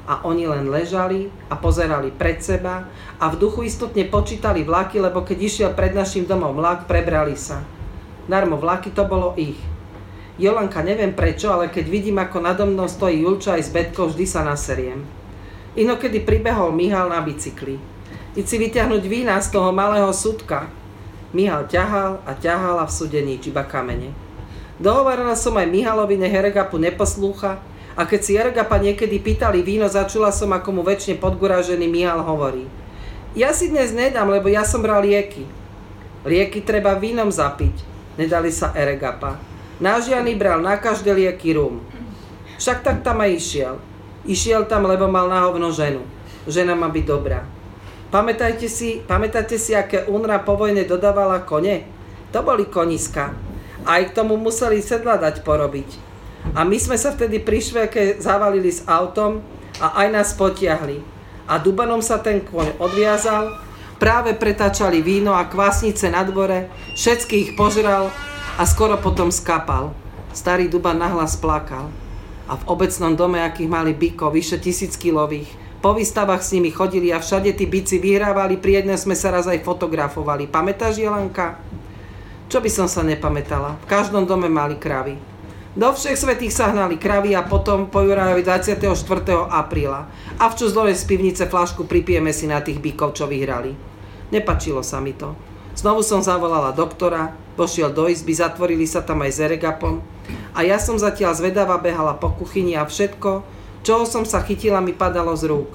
A oni len ležali a pozerali pred seba a v duchu istotne počítali vlaky, lebo keď išiel pred našim domom vlak, prebrali sa. Darmo vlaky, to bolo ich. Jolanka, neviem prečo, ale keď vidím, ako nado mnou stojí Julča aj s Betkou, vždy sa naseriem. Inokedy pribehol Mihal na bicykli. Id si vyťahnuť vína z toho malého súdka. Mihal ťahal a ťahal a v súde nič, iba kamene. Dohovorila som aj Mihalovi, nech Eregapu neposlúcha, a keď si Eregapa niekedy pýtali víno, začula som, ako mu väčšine podgurážený Mihal hovorí. Ja si dnes nedám, lebo ja som bral lieky. Lieky treba vínom zapiť, nedali sa Eregapa. Náš Jany bral na každé lieky rum. Však tak tam aj išiel. Išiel tam, lebo mal na hovno ženu. Žena má byť dobrá. Pamätajte si, pamätáte si, aké UNRWA po vojne dodávala kone? To boli koniska. Aj k tomu museli sedla dať porobiť. A my sme sa vtedy pri švéke zavalili s autom a aj nás potiahli. A dubanom sa ten kôň odviazal, práve pretáčali víno a kvásnice na dvore, všetky ich požral a skoro potom skapal. Starý duban nahlas plakal. A v obecnom dome, akých mali bykov, vyše tisíckilových, po výstavách s nimi chodili a všade tí byci vyhrávali, pri jednom sme sa raz aj fotografovali. Pamätáš, Jelanka? Čo by som sa nepamätala? V každom dome mali kravy. Do všech svätých sa hnali kravy a potom po Jurajovi dvadsiateho štvrtého apríla. A včas dole z pivnice fľašku pripijeme si na tých bykov, čo vyhrali. Nepačilo sa mi to. Znovu som zavolala doktora, pošiel do izby, zatvorili sa tam aj s Eregapom a ja som zatiaľ zvedavá behala po kuchyni a všetko, čoho som sa chytila, mi padalo z rúk.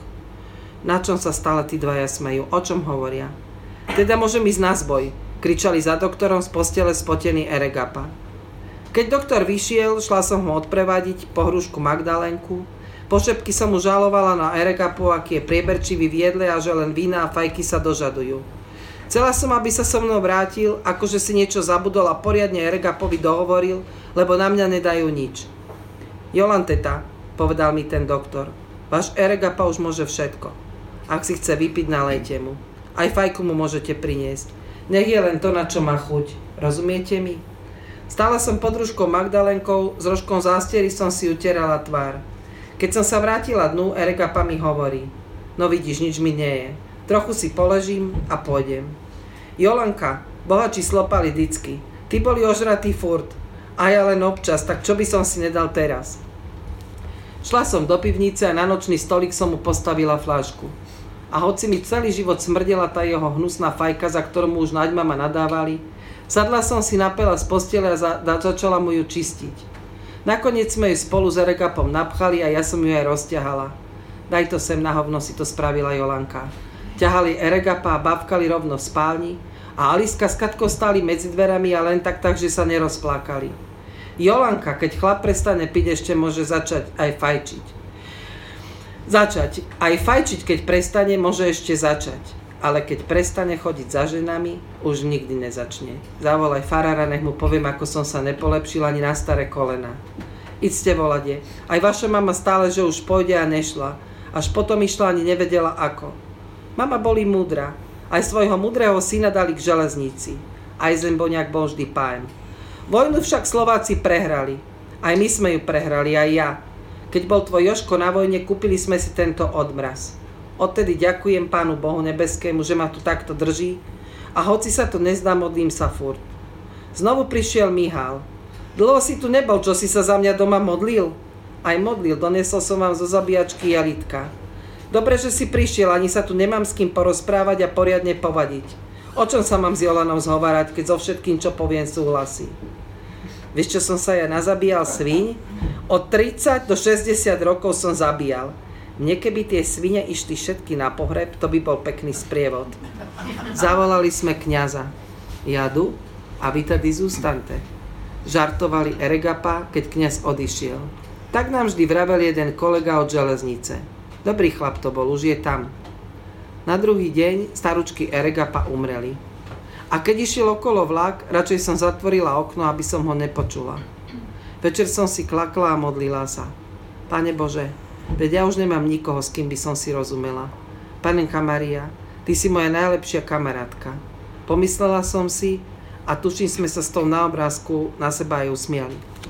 Na čom sa stále tí dvaja smejú? O čom hovoria? Teda môžem ísť na zboj, kričali za doktorom z postele spotený Eregapa. Keď doktor vyšiel, šla som ho odprevadiť po hrušku Magdalenku. Po šepky som mu žalovala na Eregapu, aký je prieberčivý v jedle a že len vína a fajky sa dožadujú. Chcela som, aby sa so mnou vrátil, akože si niečo zabudol a poriadne Eregapovi dohovoril, lebo na mňa nedajú nič. Jolanteta, povedal mi ten doktor, váš Eregapa už môže všetko. Ak si chce vypiť, nalejte mu. Aj fajku mu môžete priniesť. Nech je len to, na čo má chuť. Rozumiete mi? Stála som pod rúškou Magdalenkou, s rožkom zástiery som si utierala tvár. Keď som sa vrátila dnu, Eregapa mi hovorí. No vidíš, nič mi nie je. Trochu si poležím a pôjdem. Jolanka, bohači slopali dicky. Ty boli ožratý furt. A ja len občas, tak čo by som si nedal teraz? Šla som do pivnice a na nočný stolík som mu postavila fľašku. A hoci mi celý život smrdela tá jeho hnusná fajka, za ktorú mu už naďma ma nadávali, sadla som si, napela z postele a za, začala mu ju čistiť. Nakoniec sme ju spolu s Eregapom napchali a ja som ju aj rozťahala. Daj to sem, na hovno, si to spravila Jolanka. Ťahali Eregapa a bavkali rovno v spálni a Aliska s Katkou stáli medzi dverami a len tak tak, že sa nerozplakali. Jolanka, keď chlap prestane piť, ešte môže začať aj fajčiť. Začať. Aj fajčiť, keď prestane, môže ešte začať. Ale keď prestane chodiť za ženami, už nikdy nezačne. Zavolaj farára, nech mu poviem, ako som sa nepolepšila ani na staré kolena. Iďte volade. Aj vaša mama stále, že už pôjde a nešla. Až potom išla, ani nevedela ako. Mama boli múdra. Aj svojho múdreho syna dali k železnici. Aj Zemboňák bol vždy pájem. Vojnu však Slováci prehrali. Aj my sme ju prehrali, aj ja. Keď bol tvoj Jožko na vojne, kúpili sme si tento odmraz. Odtedy ďakujem Pánu Bohu nebeskému, že ma tu takto drží a hoci sa to nezdá, modlím sa furt. Znovu prišiel Mihal. Dlho si tu nebol, čo si sa za mňa doma modlil? Aj modlil, donesol som vám zo zabíjačky jalitka. Dobre, že si prišiel, ani sa tu nemám s kým porozprávať a poriadne povadiť. O čom sa mám s Jolanou zhovárať, keď so všetkým, čo poviem, súhlasí? Vieš, čo som sa ja nazabíjal sviň? Od tridsať do šesťdesiat rokov som zabíjal. Mne keby tie svine išli všetky na pohreb, to by bol pekný sprievod. Zavolali sme kňaza. Jadu a vy tady zústante. Žartovali Eregapa, keď kňaz odišiel. Tak nám vždy vravel jeden kolega od železnice. Dobrý chlap to bol, už je tam. Na druhý deň staručky Eregapa umreli. A keď išiel okolo vlak, radšej som zatvorila okno, aby som ho nepočula. Večer som si klakla a modlila sa. Pane Bože, veď ja už nemám nikoho, s kým by som si rozumela. Panenka Maria, ty si moja najlepšia kamarátka. Pomyslela som si a tuším, sme sa s tou na obrázku na seba aj usmiali.